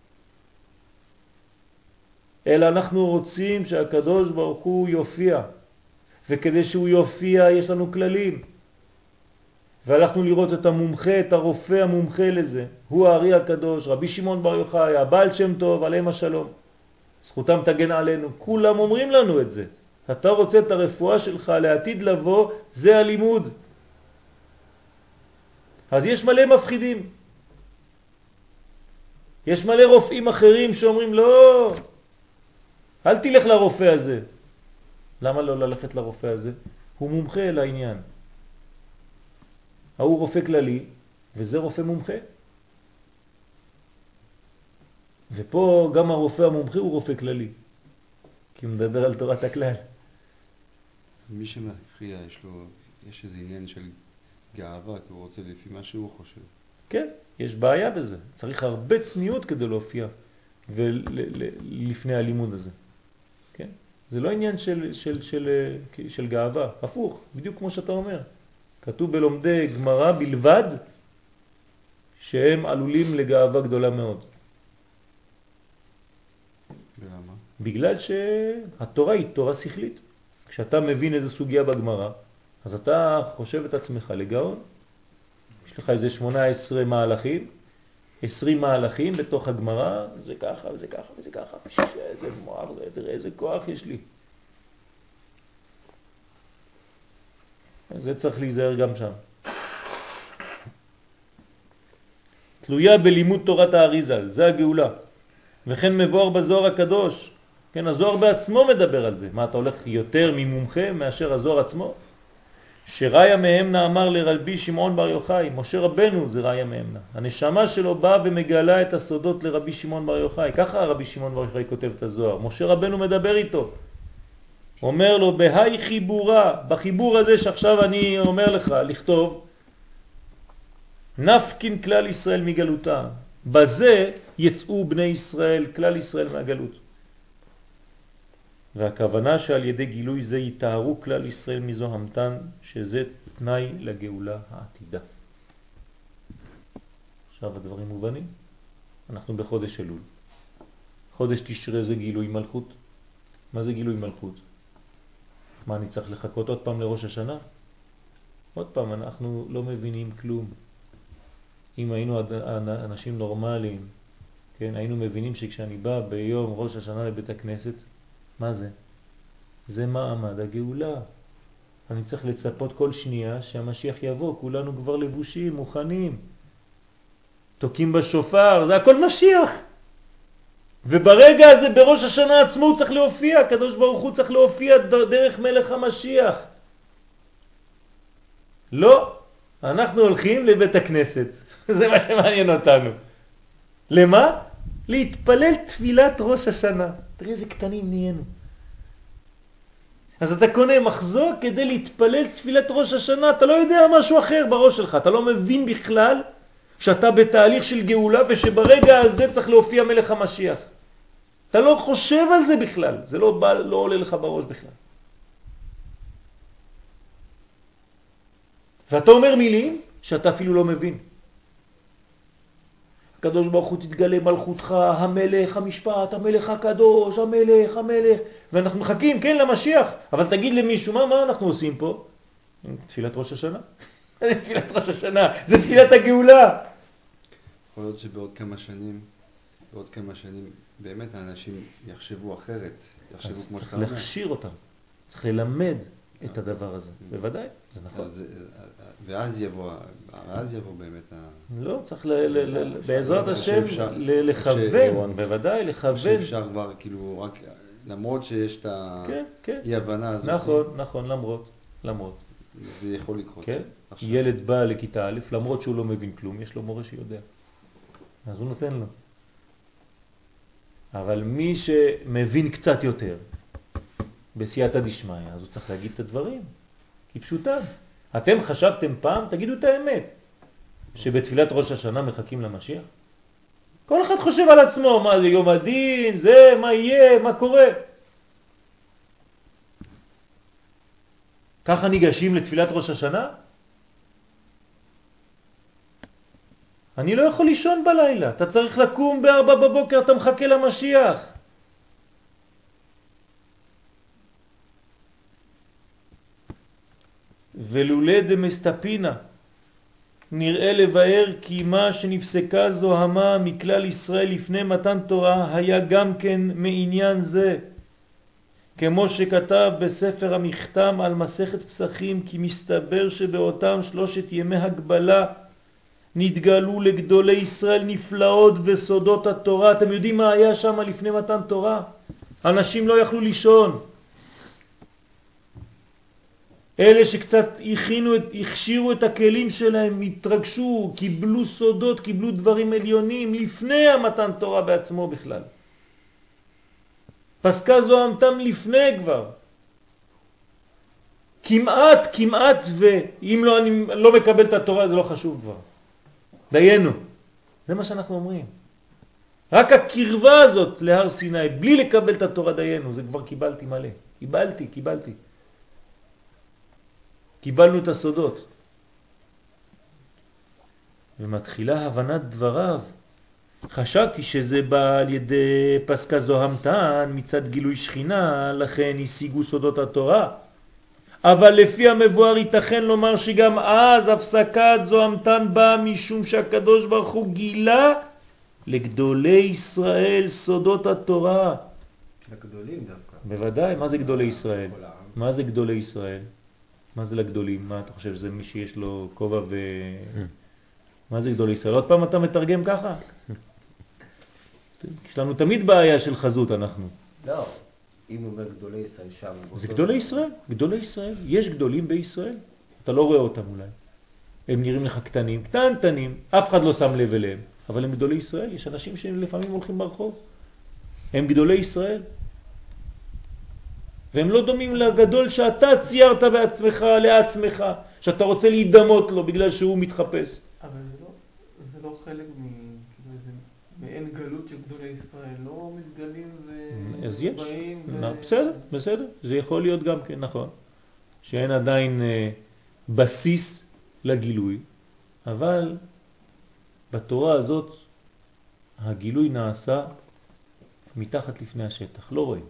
אלא אנחנו רוצים שהקדוש ברוך הוא יופיע. וכדי שהוא יופיע יש לנו כללים. והלכנו לראות את המומחה, את הרופא המומחה לזה. הוא הארי הקדוש, רבי שמעון בר יוחאי, הבעל שם טוב, עליהם השלום. זכותם תגן עלינו. כולם אומרים לנו את זה. אתה רוצה את הרפואה שלך לעתיד לבוא, זה הלימוד. אז יש מלא מפחידים. יש מלא רופאים אחרים שאומרים, לא, אל תלך לרופא הזה. למה לא ללכת לרופא הזה? הוא מומחה לעניין. הוא רופא כללי, וזה רופא מומחה. ופה גם הרופא המומחה הוא רופא כללי, כי הוא מדבר על תורת הכלל. מי שמכריע יש איזה עניין של גאווה, כי הוא רוצה לפי מה שהוא חושב. כן, יש בעיה בזה. צריך הרבה צניעות כדי להופיע לפני הלימוד הזה. כן? זה לא עניין של גאווה, הפוך, בדיוק כמו שאתה אומר. כתוב בלומדי גמרא בלבד שהם עלולים לגאווה גדולה מאוד. ולמה? בגלל שהתורה היא תורה שכלית. כשאתה מבין איזו סוגיה בגמרא, אז אתה חושב את עצמך לגאון. יש לך איזה 18 מהלכים, 20 מהלכים בתוך הגמרא, זה ככה וזה ככה וזה ככה. איזה מוח, תראה איזה כוח יש לי. זה צריך להיזהר גם שם. תלויה בלימוד תורת האריזל, זה הגאולה. וכן מבואר בזוהר הקדוש. כן, הזוהר בעצמו מדבר על זה. מה, אתה הולך יותר ממומחה מאשר הזוהר עצמו? שראיה מהמנה אמר לרבי שמעון בר יוחאי, משה רבנו זה ראיה מהמנה. הנשמה שלו באה ומגלה את הסודות לרבי שמעון בר יוחאי. ככה רבי שמעון בר יוחאי כותב את הזוהר. משה רבנו מדבר איתו. אומר לו, בהי חיבורה, בחיבור הזה שעכשיו אני אומר לך, לכתוב, נפקין כלל ישראל מגלותה. בזה יצאו בני ישראל, כלל ישראל מהגלות. והכוונה שעל ידי גילוי זה יתארו כלל ישראל מזוהמתן, שזה תנאי לגאולה העתידה. עכשיו הדברים מובנים. אנחנו בחודש אלול. חודש תשרה זה גילוי מלכות. מה זה גילוי מלכות? מה, אני צריך לחכות עוד פעם לראש השנה? עוד פעם, אנחנו לא מבינים כלום. אם היינו אנשים נורמליים, כן, היינו מבינים שכשאני בא ביום ראש השנה לבית הכנסת, מה זה? זה מעמד הגאולה. אני צריך לצפות כל שנייה שהמשיח יבוא, כולנו כבר לבושים, מוכנים. תוקים בשופר, זה הכל משיח. וברגע הזה בראש השנה עצמו הוא צריך להופיע, הקדוש ברוך הוא צריך להופיע דרך מלך המשיח. לא, אנחנו הולכים לבית הכנסת. זה מה שמעניין אותנו. למה? להתפלל תפילת ראש השנה. תראה איזה קטנים נהיינו. אז אתה קונה מחזור כדי להתפלל תפילת ראש השנה, אתה לא יודע משהו אחר בראש שלך, אתה לא מבין בכלל שאתה בתהליך של גאולה ושברגע הזה צריך להופיע מלך המשיח. אתה לא חושב על זה בכלל, זה לא עולה לך בראש בכלל. ואתה אומר מילים שאתה אפילו לא מבין. הקדוש ברוך הוא תתגלה מלכותך, המלך, המשפט, המלך הקדוש, המלך, המלך, ואנחנו מחכים, כן, למשיח. אבל תגיד למישהו, מה אנחנו עושים פה? תפילת ראש השנה. זה תפילת ראש השנה, זה תפילת הגאולה. יכול להיות שבעוד כמה שנים, באמת האנשים יחשבו אחרת, יחשבו כמו שאתה אומר. צריך להכשיר אותם, צריך ללמד את הדבר הזה. בוודאי, זה נכון. ואז יבוא באמת לא, צריך בעזרת השם לכוון, בוודאי, לכוון. שאפשר כבר כאילו רק, למרות שיש את האי-הבנה הזאת. נכון, למרות. זה יכול לקרות. כן, ילד בא לכיתה א', למרות שהוא לא מבין כלום, יש לו מורה שיודע. אז הוא נותן לו. אבל מי שמבין קצת יותר, בסייעתא דשמיא, אז הוא צריך להגיד את הדברים, כי פשוטם. אתם חשבתם פעם, תגידו את האמת, שבתפילת ראש השנה מחכים למשיח? כל אחד חושב על עצמו, מה זה יום הדין, זה, מה יהיה, מה קורה. ככה ניגשים לתפילת ראש השנה? אני לא יכול לישון בלילה, אתה צריך לקום ב4 בבוקר, אתה מחכה למשיח. ולולא דמסתפינה נראה לבאר כי מה שנפסקה זוהמה מכלל ישראל לפני מתן תורה היה גם כן מעניין זה, כמו שכתב בספר המכתם על מסכת פסחים, כי מסתבר שבאותם 3 ימי הגבלה נתגלו לגדולי ישראל נפלאות וסודות התורה. אתם יודעים מה היה שם לפני מתן תורה? אנשים לא יכלו לישון. אלה שקצת הכשירו את הכלים שלהם, התרגשו, קיבלו סודות, קיבלו דברים עליונים לפני המתן תורה בעצמו בכלל. פסקה זוהמתם לפני כבר. כמעט, ואם לא, אני לא מקבל את התורה, זה לא חשוב כבר. דיינו. זה מה שאנחנו אומרים. רק הקרבה הזאת להר סיני, בלי לקבל את התורה דיינו, זה כבר קיבלתי מלא. קיבלתי. קיבלנו את הסודות. ומתחילה הבנת דבריו. חשבתי שזה בא על ידי פסקה זוהמתן מצד גילוי שכינה, לכן השיגו סודות התורה. אבל לפי המבואר ייתכן לומר שגם אז הפסקת זוהמתן באה משום שהקדוש ברוך הוא גילה לגדולי ישראל סודות התורה. לגדולים דווקא. בוודאי, מה זה גדולי ישראל? מה זה גדולי ישראל? מה זה לגדולים? מה אתה חושב? זה מי שיש לו כובע ו... מה זה גדולי ישראל? עוד פעם אתה מתרגם ככה? יש לנו תמיד בעיה של חזות אנחנו. לא, אם הוא אומר גדולי ישראל שם... זה גדולי ישראל. יש גדולים בישראל. אתה לא רואה אותם אולי. הם נראים לך קטנים, אף אחד לא שם לב אליהם. אבל הם גדולי ישראל. יש אנשים שלפעמים הולכים ברחוב. הם גדולי ישראל. והם לא דומים לגדול שאתה ציירת בעצמך, לעצמך, שאתה רוצה להידמות לו בגלל שהוא מתחפש. אבל זה לא חלק מעין גלות של גדולי ישראל, לא מתגלים ובאים בסדר, זה יכול להיות גם כן, נכון, שאין עדיין בסיס לגילוי, אבל בתורה הזאת הגילוי נעשה מתחת לפני השטח, לא רואים,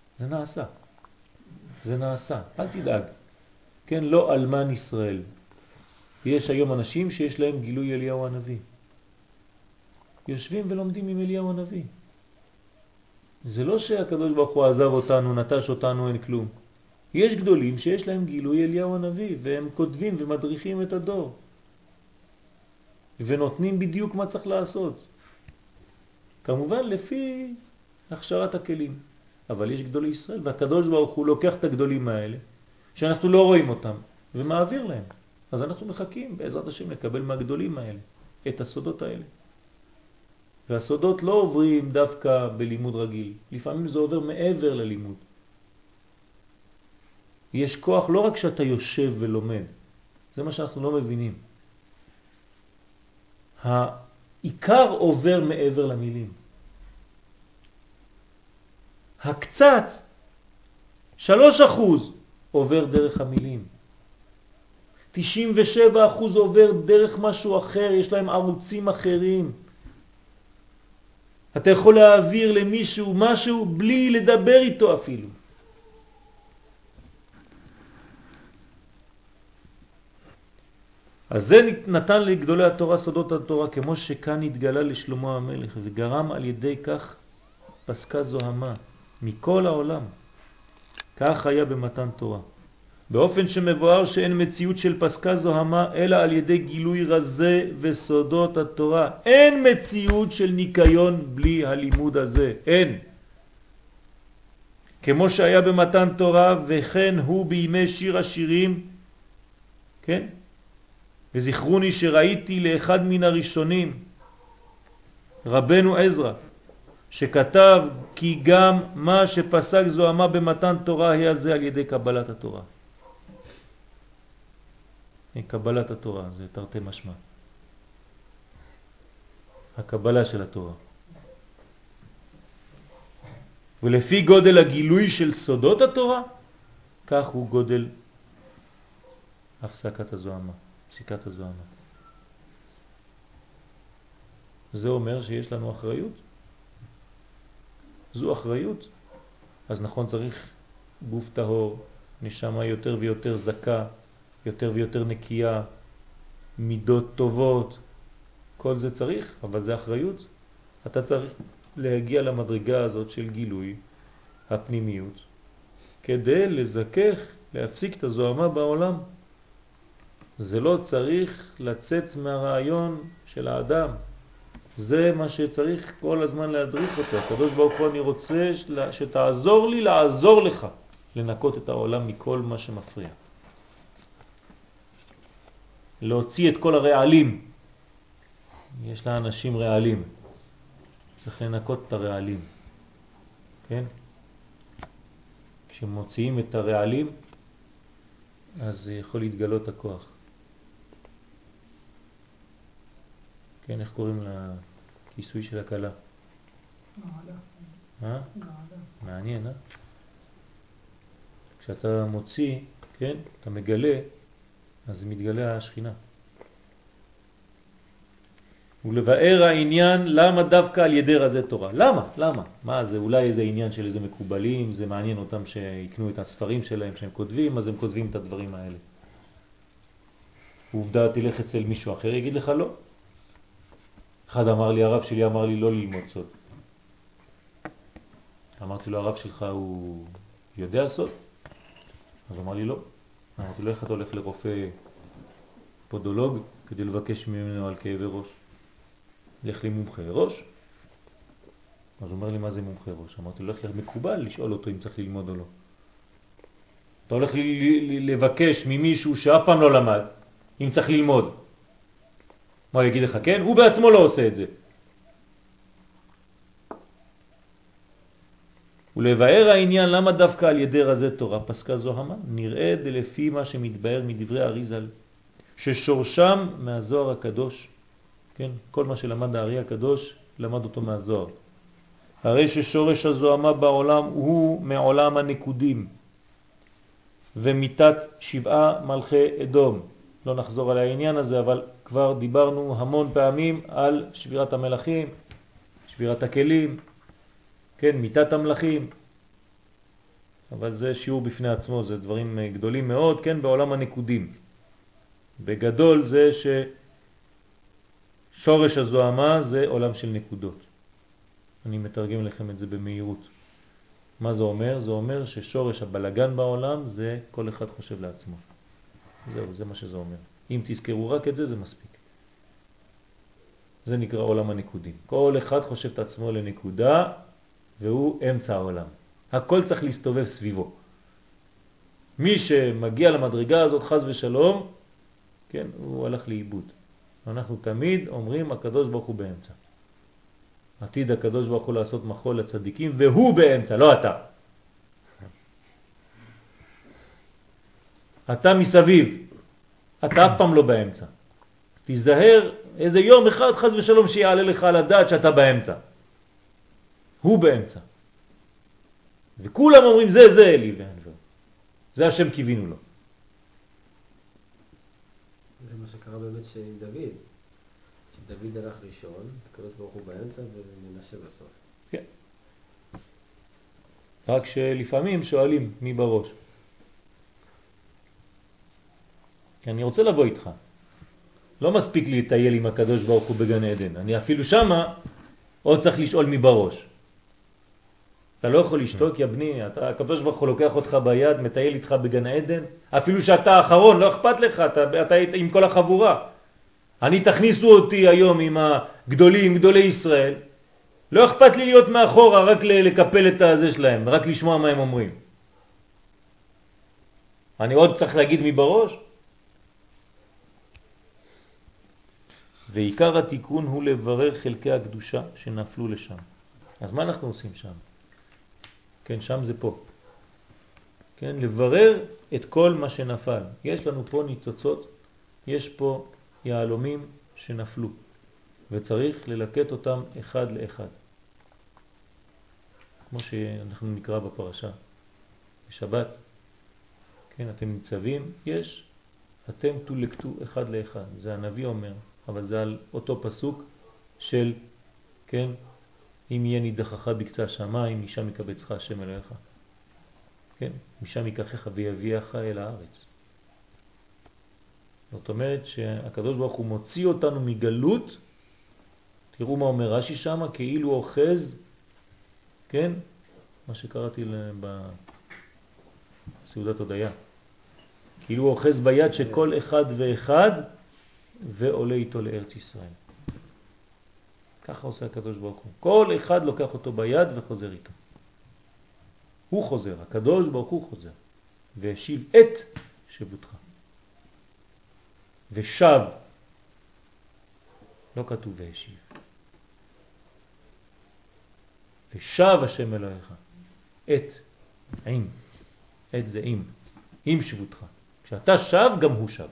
זה נעשה, אל תדאג, כן, לא אלמן ישראל. יש היום אנשים שיש להם גילוי אליהו הנביא. יושבים ולומדים עם אליהו הנביא. זה לא שהקדוש ברוך הוא עזב אותנו, נטש אותנו, אין כלום. יש גדולים שיש להם גילוי אליהו הנביא, והם כותבים ומדריכים את הדור. ונותנים בדיוק מה צריך לעשות. כמובן לפי הכשרת הכלים. אבל יש גדולי ישראל, והקדוש ברוך הוא לוקח את הגדולים האלה, שאנחנו לא רואים אותם, ומעביר להם. אז אנחנו מחכים בעזרת השם לקבל מהגדולים האלה את הסודות האלה. והסודות לא עוברים דווקא בלימוד רגיל, לפעמים זה עובר מעבר ללימוד. יש כוח לא רק שאתה יושב ולומד, זה מה שאנחנו לא מבינים. העיקר עובר מעבר למילים. הקצת, 3% עובר דרך המילים. 97% עובר דרך משהו אחר, יש להם ערוצים אחרים. אתה יכול להעביר למישהו משהו בלי לדבר איתו אפילו. אז זה נתן לגדולי התורה סודות התורה, כמו שכאן התגלה לשלמה המלך, וגרם על ידי כך פסקה זוהמה מכל העולם. כך היה במתן תורה. באופן שמבואר שאין מציאות של פסקה זוהמה אלא על ידי גילוי רזה וסודות התורה. אין מציאות של ניקיון בלי הלימוד הזה. אין. כמו שהיה במתן תורה, וכן הוא בימי שיר השירים, כן? וזכרוני שראיתי לאחד מן הראשונים, רבנו עזרא, שכתב כי גם מה שפסק זוהמה במתן תורה היה זה על ידי קבלת התורה. קבלת התורה, זה תרתי משמע. הקבלה של התורה. ולפי גודל הגילוי של סודות התורה, כך הוא גודל הפסקת הזוהמה, פסיקת הזוהמה. זה אומר שיש לנו אחריות. זו אחריות. אז נכון, צריך גוף טהור, נשמה יותר ויותר זכה, יותר ויותר נקייה, מידות טובות, כל זה צריך, אבל זה אחריות. אתה צריך להגיע למדרגה הזאת של גילוי הפנימיות, כדי לזכך, להפסיק את הזוהמה בעולם. זה לא צריך לצאת מהרעיון של האדם. זה מה שצריך כל הזמן להדריך אותו. הקדוש ברוך הוא, אני רוצה שתעזור לי לעזור לך לנקות את העולם מכל מה שמפריע. להוציא את כל הרעלים. יש לאנשים רעלים. צריך לנקות את הרעלים. כן? כשמוציאים את הרעלים, אז יכול להתגלות הכוח. כן, איך קוראים לכיסוי של הקלה? געלה. מעניין, כשאתה מוציא, כן, אתה מגלה, אז מתגלה השכינה. ולבאר העניין למה דווקא על ידי רזי תורה. למה? מה זה? אולי איזה עניין של איזה מקובלים, זה מעניין אותם שיקנו את הספרים שלהם שהם כותבים, אז הם כותבים את הדברים האלה. ועובדה, תלך אצל מישהו אחר, יגיד לך לא. אחד אמר לי, הרב שלי אמר לי לא ללמוד סוד. אמרתי לו, הרב שלך הוא יודע סוד? אז אמר לי לא. אמרתי לו, איך אתה הולך לרופא פודולוג כדי לבקש ממנו על כאבי ראש? לך לי מומחה ראש. אז הוא אומר לי, מה זה מומחה ראש? אמרתי לו, לך למקובל לשאול אותו אם צריך ללמוד או לא. אתה הולך לבקש ממישהו שאף פעם לא למד אם צריך ללמוד. מה יגיד לך? כן? הוא בעצמו לא עושה את זה. ולבאר העניין למה דווקא על ידי רזי תורה פסקה זוהמה, נראה לפי מה שמתבאר מדברי אריז"ל, ששורשם מהזוהר הקדוש. כן? כל מה שלמד הארי הקדוש, למד אותו מהזוהר. הרי ששורש הזוהמה בעולם הוא מעולם הנקודים, ומיתת 7 מלכי אדום. לא נחזור על העניין הזה, אבל כבר דיברנו המון פעמים על שבירת המלכים, שבירת הכלים, כן, מיתת המלכים. אבל זה שיעור בפני עצמו, זה דברים גדולים מאוד, כן, בעולם הנקודים. בגדול זה ששורש הזוהמה זה עולם של נקודות. אני מתרגם לכם את זה במהירות. מה זה אומר? זה אומר ששורש הבלגן בעולם זה כל אחד חושב לעצמו. זהו, זה מה שזה אומר. אם תזכרו רק את זה, זה מספיק. זה נקרא עולם הנקודים. כל אחד חושב את עצמו לנקודה, והוא אמצע העולם. הכל צריך להסתובב סביבו. מי שמגיע למדרגה הזאת חס ושלום, כן, הוא הלך לאיבוד. אנחנו תמיד אומרים, הקדוש ברוך הוא באמצע. עתיד הקדוש ברוך הוא לעשות מחול לצדיקים, והוא באמצע, לא אתה. אתה מסביב. אתה אף פעם לא באמצע. תיזהר איזה יום אחד חס ושלום שיעלה לך על הדעת שאתה באמצע. הוא באמצע. וכולם אומרים זה אלי ואנבר. זה השם קיווינו לו. זה מה שקרה באמת עם דוד. שדוד הלך ראשון, הקדוש ברוך הוא באמצע ומנשה בסוף. כן. רק שלפעמים שואלים מי בראש. כי אני רוצה לבוא איתך. לא מספיק לי לטייל עם הקדוש ברוך הוא בגן עדן. אני אפילו שמה עוד צריך לשאול מי בראש. אתה לא יכול לשתוק, יא בני, הקדוש ברוך הוא לוקח אותך ביד, מטייל איתך בגן עדן, אפילו שאתה האחרון, לא אכפת לך, אתה עם כל החבורה. אני תכניסו אותי היום עם הגדולים, גדולי ישראל, לא אכפת לי להיות מאחורה, רק לקפל את הזה שלהם, רק לשמוע מה הם אומרים. אני עוד צריך להגיד מי בראש? ועיקר התיקון הוא לברר חלקי הקדושה שנפלו לשם. אז מה אנחנו עושים שם? כן, שם זה פה. כן, לברר את כל מה שנפל. יש לנו פה ניצוצות, יש פה יעלומים שנפלו, וצריך ללקט אותם אחד לאחד. כמו שאנחנו נקרא בפרשה, בשבת, כן, אתם ניצבים, אתם תולקטו אחד לאחד. זה הנביא אומר, אבל זה על אותו פסוק של, כן, אם יהיה נידחך בקצה השמיים, משם יקבצך השם אלוהיך. כן, משם ייקחך ויביאך אל הארץ. זאת אומרת שהקדוש ברוך הוא מוציא אותנו מגלות, תראו מה אומר רש"י שם, כאילו אוחז, כן, מה שקראתי בסעודת הודיה, כאילו אוחז ביד שכל אחד ואחד ועולה איתו לארץ ישראל. ככה עושה הקדוש ברוך הוא. כל אחד לוקח אותו ביד וחוזר איתו. הוא חוזר, הקדוש ברוך הוא חוזר. והשיב את שבותך. ושב. לא כתוב והשיב. ושב השם אלוהיך. את. עם. את זה עם שבותך. כשאתה שב, גם הוא שב.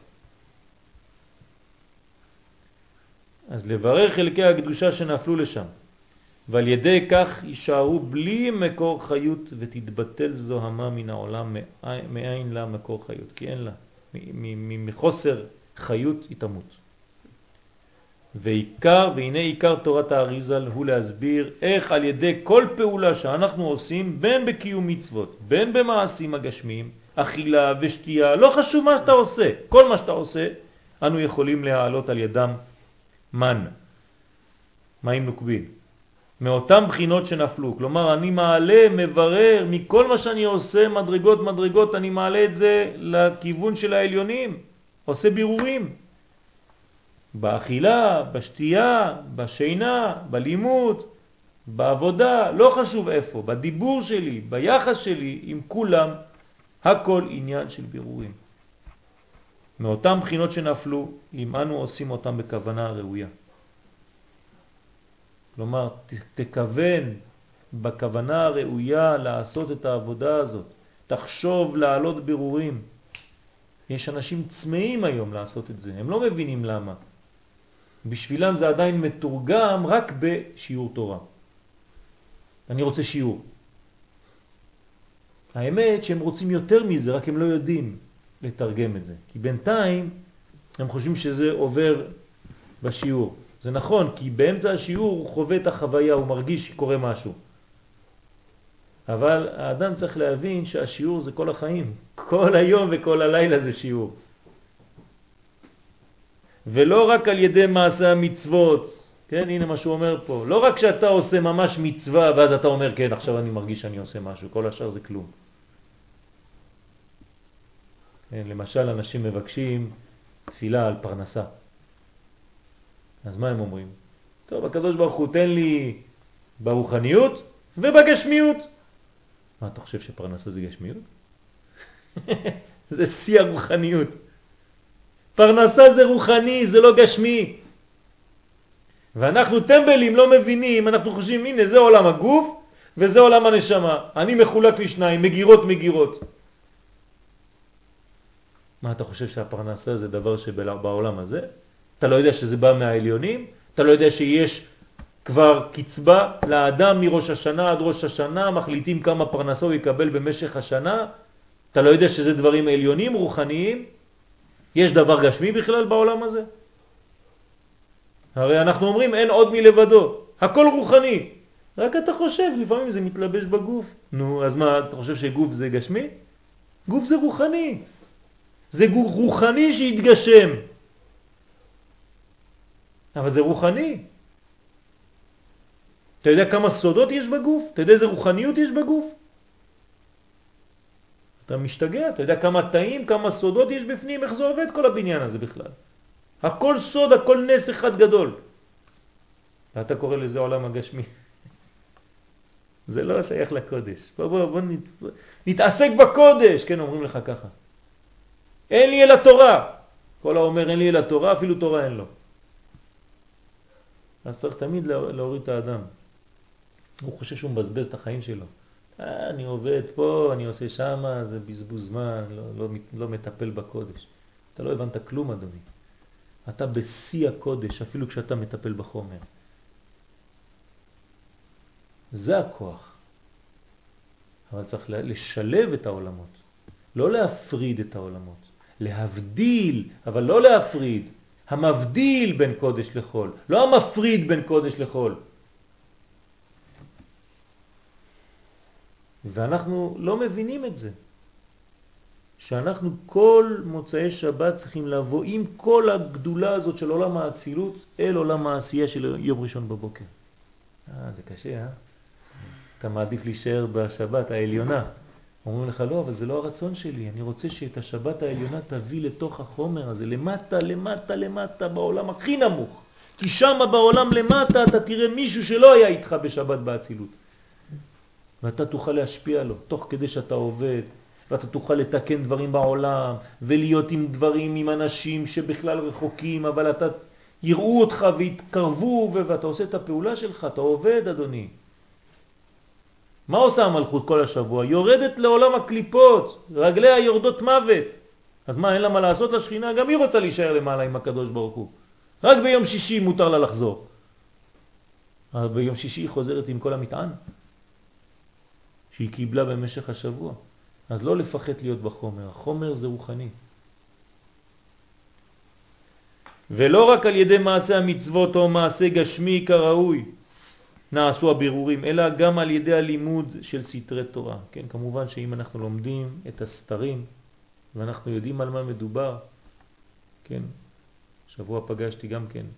אז לברר חלקי הקדושה שנפלו לשם, ועל ידי כך יישארו בלי מקור חיות ותתבטל זוהמה מן העולם, מאין לה מקור חיות, כי אין לה, מחוסר חיות היא תמות. והנה עיקר תורת האריז"ל הוא להסביר איך על ידי כל פעולה שאנחנו עושים, בין בקיום מצוות, בין במעשים הגשמיים, אכילה ושתייה, לא חשוב מה שאתה עושה, כל מה שאתה עושה, אנו יכולים להעלות על ידם מים נוקבים, מאותם בחינות שנפלו. כלומר, אני מעלה, מברר, מכל מה שאני עושה, מדרגות, אני מעלה את זה לכיוון של העליונים, עושה בירורים. באכילה, בשתייה, בשינה, בלימוד, בעבודה, לא חשוב איפה, בדיבור שלי, ביחס שלי, עם כולם, הכל עניין של בירורים. מאותם בחינות שנפלו, אם אנו עושים אותם בכוונה ראויה. כלומר, תכוון בכוונה הראויה לעשות את העבודה הזאת. תחשוב לעלות בירורים. יש אנשים צמאים היום לעשות את זה, הם לא מבינים למה. בשבילם זה עדיין מתורגם רק בשיעור תורה. אני רוצה שיעור. האמת שהם רוצים יותר מזה, רק הם לא יודעים לתרגם את זה. כי בינתיים הם חושבים שזה עובר בשיעור. זה נכון, כי באמצע השיעור הוא חווה את החוויה, הוא מרגיש שקורה משהו. אבל האדם צריך להבין שהשיעור זה כל החיים. כל היום וכל הלילה זה שיעור. ולא רק על ידי מעשה המצוות. כן, הנה מה שהוא אומר פה. לא רק שאתה עושה ממש מצווה, ואז אתה אומר, כן, עכשיו אני מרגיש שאני עושה משהו. כל השאר זה כלום. כן, למשל, אנשים מבקשים תפילה על פרנסה. אז מה הם אומרים? טוב, הקדוש ברוך הוא תן לי ברוחניות ובגשמיות. מה, אתה חושב שפרנסה זה גשמיות? זה שיא הרוחניות. פרנסה זה רוחני, זה לא גשמי. ואנחנו טמבלים לא מבינים, אנחנו חושבים, הנה זה עולם הגוף וזה עולם הנשמה. אני מחולק לשניים, מגירות. מה, אתה חושב שהפרנסה זה דבר שבעולם הזה? אתה לא יודע שזה בא מהעליונים? אתה לא יודע שיש כבר קצבה לאדם מראש השנה עד ראש השנה, מחליטים כמה פרנסה הוא יקבל במשך השנה. אתה לא יודע שזה דברים עליונים, רוחניים? יש דבר גשמי בכלל בעולם הזה? הרי אנחנו אומרים אין עוד מלבדו, הכל רוחני. רק אתה חושב, לפעמים זה מתלבש בגוף. נו, אז מה, אתה חושב שגוף זה גשמי? גוף זה רוחני. זה גוף רוחני שהתגשם. אבל זה רוחני. אתה יודע כמה סודות יש בגוף? אתה יודע איזה רוחניות יש בגוף? אתה משתגע, אתה יודע כמה תאים, כמה סודות יש בפנים, איך זה עובד כל הבניין הזה בכלל. הכל סוד, הכל נס אחד גדול. ואתה קורא לזה עולם הגשמי. זה לא שייך לקודש. בוא נתעסק בקודש, כן, אומרים לך ככה. אין לי אלא תורה. כל האומר אין לי אלא תורה, אפילו תורה אין לו. אז צריך תמיד להוריד את האדם. הוא חושב שהוא מבזבז את החיים שלו. אני עובד פה, אני עושה שמה, זה בזבוז זמן, לא מטפל בקודש. אתה לא הבנת כלום, אדוני. אתה בשיא הקודש, אפילו כשאתה מטפל בחומר. זה הכוח. אבל צריך לשלב את העולמות. לא להפריד את העולמות. להבדיל, אבל לא להפריד. המבדיל בין קודש לחול. לא המפריד בין קודש לחול. ואנחנו לא מבינים את זה. שאנחנו כל מוצאי שבת צריכים לבוא עם כל הגדולה הזאת של עולם האצילות אל עולם העשייה של יום ראשון בבוקר. זה קשה, אתה מעדיף להישאר בשבת העליונה. אומרים לך, לא, אבל זה לא הרצון שלי. אני רוצה שאת השבת העליונה תביא לתוך החומר הזה, למטה, למטה, למטה, בעולם הכי נמוך. כי שם בעולם למטה אתה תראה מישהו שלא היה איתך בשבת באצילות. ואתה תוכל להשפיע לו, תוך כדי שאתה עובד, ואתה תוכל לתקן דברים בעולם, ולהיות עם דברים, עם אנשים שבכלל רחוקים, אבל אתה יראו אותך והתקרבו, ואתה עושה את הפעולה שלך, אתה עובד, אדוני. מה עושה המלכות כל השבוע? יורדת לעולם הקליפות, רגליה יורדות מוות. אז מה, אין לה מה לעשות לשכינה? גם היא רוצה להישאר למעלה עם הקדוש ברוך הוא. רק ביום שישי מותר לה לחזור. אבל ביום שישי היא חוזרת עם כל המטען שהיא קיבלה במשך השבוע. אז לא לפחד להיות בחומר. החומר זה רוחני. ולא רק על ידי מעשה המצוות או מעשה גשמי כראוי נעשו הבירורים, אלא גם על ידי הלימוד של סתרי תורה. כן, כמובן שאם אנחנו לומדים את הסתרים ואנחנו יודעים על מה מדובר, כן, שבוע פגשתי גם כן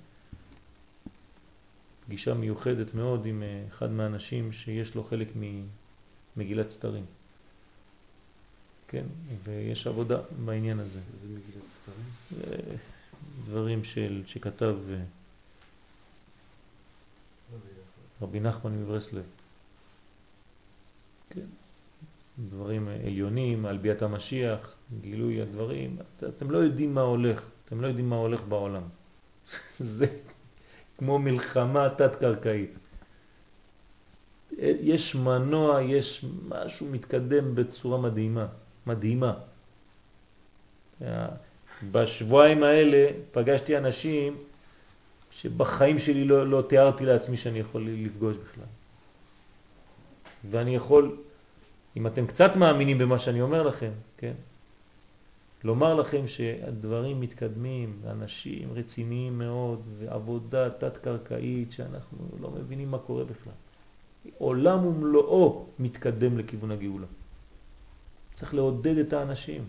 פגישה מיוחדת מאוד עם אחד מהאנשים שיש לו חלק ממגילת סתרים. כן, ויש עבודה בעניין הזה. זה מגילת סתרים? דברים שכתב רבי נחמן מברסלב. כן. דברים עליונים, על ביאת המשיח, גילוי הדברים. אתם לא יודעים מה הולך. אתם לא יודעים מה הולך בעולם. זה כמו מלחמה תת-קרקעית. יש מנוע, יש משהו מתקדם בצורה מדהימה. מדהימה. בשבועיים האלה פגשתי אנשים שבחיים שלי לא תיארתי לעצמי שאני יכול לפגוש בכלל. ואני יכול, אם אתם קצת מאמינים במה שאני אומר לכם, כן? לומר לכם שהדברים מתקדמים, אנשים רציניים מאוד, ועבודה תת-קרקעית שאנחנו לא מבינים מה קורה בכלל. עולם ומלואו מתקדם לכיוון הגאולה. צריך לעודד את האנשים.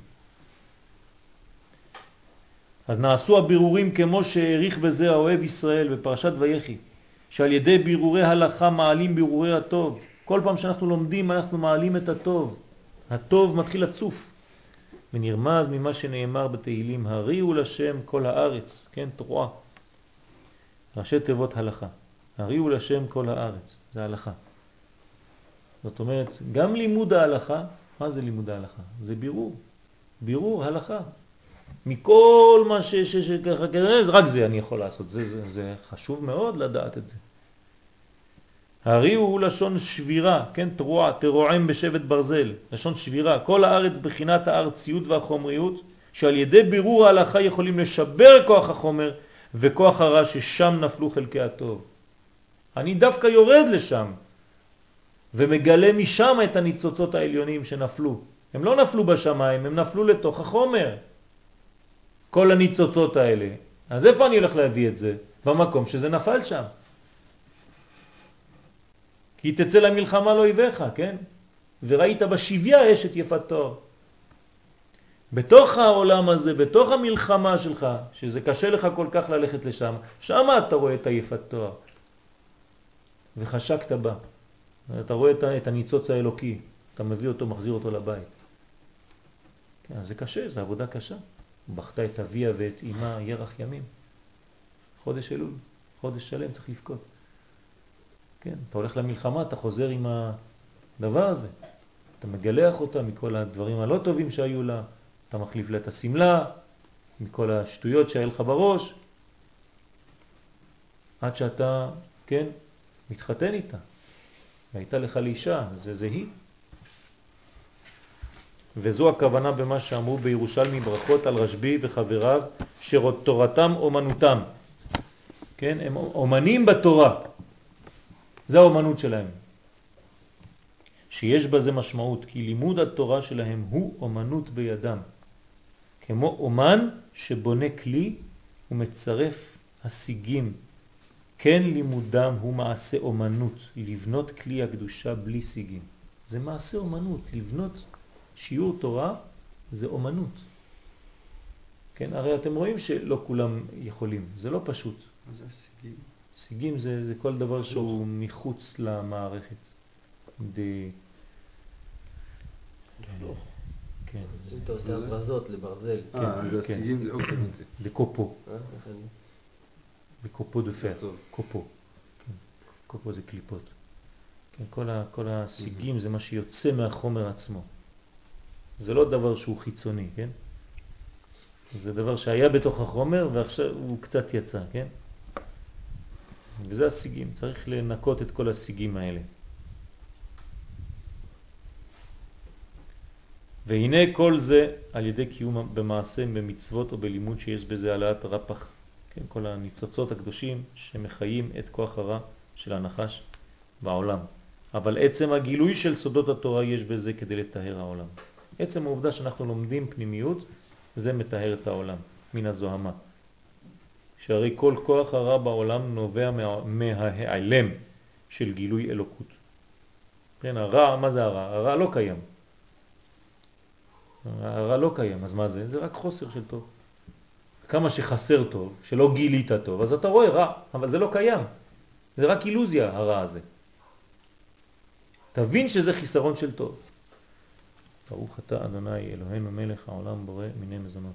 אז נעשו הבירורים כמו שהעריך בזה האוהב ישראל בפרשת ויחי, שעל ידי בירורי הלכה מעלים בירורי הטוב. כל פעם שאנחנו לומדים אנחנו מעלים את הטוב. הטוב מתחיל לצוף. ונרמז ממה שנאמר בתהילים, הריעו לשם כל הארץ, כן, תרועה. ראשי תיבות הלכה. הריעו לשם כל הארץ, זה הלכה. זאת אומרת, גם לימוד ההלכה, מה זה לימוד ההלכה? זה בירור. בירור הלכה. מכל מה שככה, רק זה אני יכול לעשות. זה חשוב מאוד לדעת את זה. הריעו הוא לשון שבירה, כן, תרועה, תרועם בשבט ברזל, לשון שבירה. כל הארץ בחינת הארציות והחומריות, שעל ידי בירור ההלכה יכולים לשבר כוח החומר וכוח הרע ששם נפלו חלקי הטוב. אני דווקא יורד לשם ומגלה משם את הניצוצות העליונים שנפלו. הם לא נפלו בשמיים, הם נפלו לתוך החומר. כל הניצוצות האלה. אז איפה אני הולך להביא את זה? במקום שזה נפל שם. כי תצא למלחמה לא יבך, כן? וראית בשביה אשת יפת תואר. בתוך העולם הזה, בתוך המלחמה שלך, שזה קשה לך כל כך ללכת לשם, שם אתה רואה את היפת תואר. וחשקת בה. אתה רואה את הניצוץ האלוקי. אתה מביא אותו, מחזיר אותו לבית. כן, אז זה קשה, זה עבודה קשה. בכתה את אביה ואת אמא ירח ימים. חודש אלול, חודש שלם צריך לבכות. כן, אתה הולך למלחמה, אתה חוזר עם הדבר הזה. אתה מגלח אותה מכל הדברים הלא טובים שהיו לה. אתה מחליף לה את הסמלה, מכל השטויות שהיה לך בראש. עד שאתה, כן, מתחתן איתה. והייתה לך לאישה, זה היא. וזו הכוונה במה שאמרו בירושלמי ברכות על רשב"י וחבריו, שתורתם אומנותם. כן, הם אומנים בתורה. זה האומנות שלהם. שיש בזה משמעות, כי לימוד התורה שלהם הוא אומנות בידם. כמו אומן שבונה כלי ומצרף השיגים. כן לימודם הוא מעשה אומנות, לבנות כלי הקדושה בלי שיגים. זה מעשה אומנות, לבנות שיעור תורה זה אומנות. כן, הרי אתם רואים שלא כולם יכולים, זה לא פשוט. מה זה השיגים? שיגים זה כל דבר שהוא מחוץ למערכת. כן. אתה עושה הברזות לברזל. זה השיגים, זה אוקיי. בקופו. בקופו דה פר. קופו. קופו זה קליפות. כל השיגים זה מה שיוצא מהחומר עצמו. זה לא דבר שהוא חיצוני, כן? זה דבר שהיה בתוך החומר ועכשיו הוא קצת יצא, כן? וזה השיגים, צריך לנקות את כל השיגים האלה. והנה כל זה על ידי קיום במעשה, במצוות או בלימוד שיש בזה העלאת רפח, כן? כל הניצוצות הקדושים שמחיים את כוח הרע של הנחש בעולם. אבל עצם הגילוי של סודות התורה יש בזה כדי לטהר העולם. עצם העובדה שאנחנו לומדים פנימיות, זה מטהר את העולם, מן הזוהמה. שהרי כל כוח הרע בעולם נובע מההיעלם של גילוי אלוקות. כן, הרע, מה זה הרע? הרע לא קיים. הרע לא קיים, אז מה זה? זה רק חוסר של טוב. כמה שחסר טוב, שלא גילית טוב, אז אתה רואה רע, אבל זה לא קיים. זה רק אילוזיה, הרע הזה. תבין שזה חיסרון של טוב. ברוך אתה אדוני אלוהינו מלך העולם בורא מיני מזונות.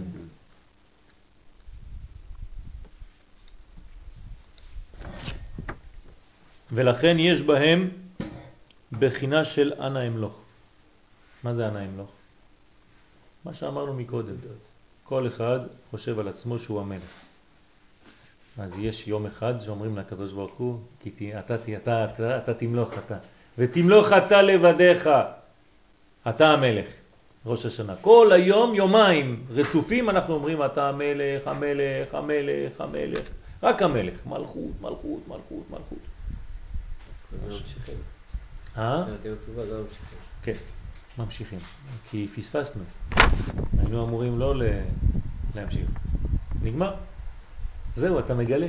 ולכן יש בהם בחינה של אנא אמלוך. מה זה אנא אמלוך? מה שאמרנו מקודם. כל אחד חושב על עצמו שהוא המלך. אז יש יום אחד שאומרים לקדוש ברוך הוא, אתה תמלוך אתה. ותמלוך אתה לבדיך. אתה המלך. ראש השנה. כל היום, יומיים רצופים אנחנו אומרים אתה המלך, המלך, המלך, המלך. רק המלך. מלכות, מלכות, מלכות, מלכות. זה ממשיכים. כן, ממשיכים. כי פספסנו. היינו אמורים לא להמשיך. נגמר. זהו, אתה מגלה.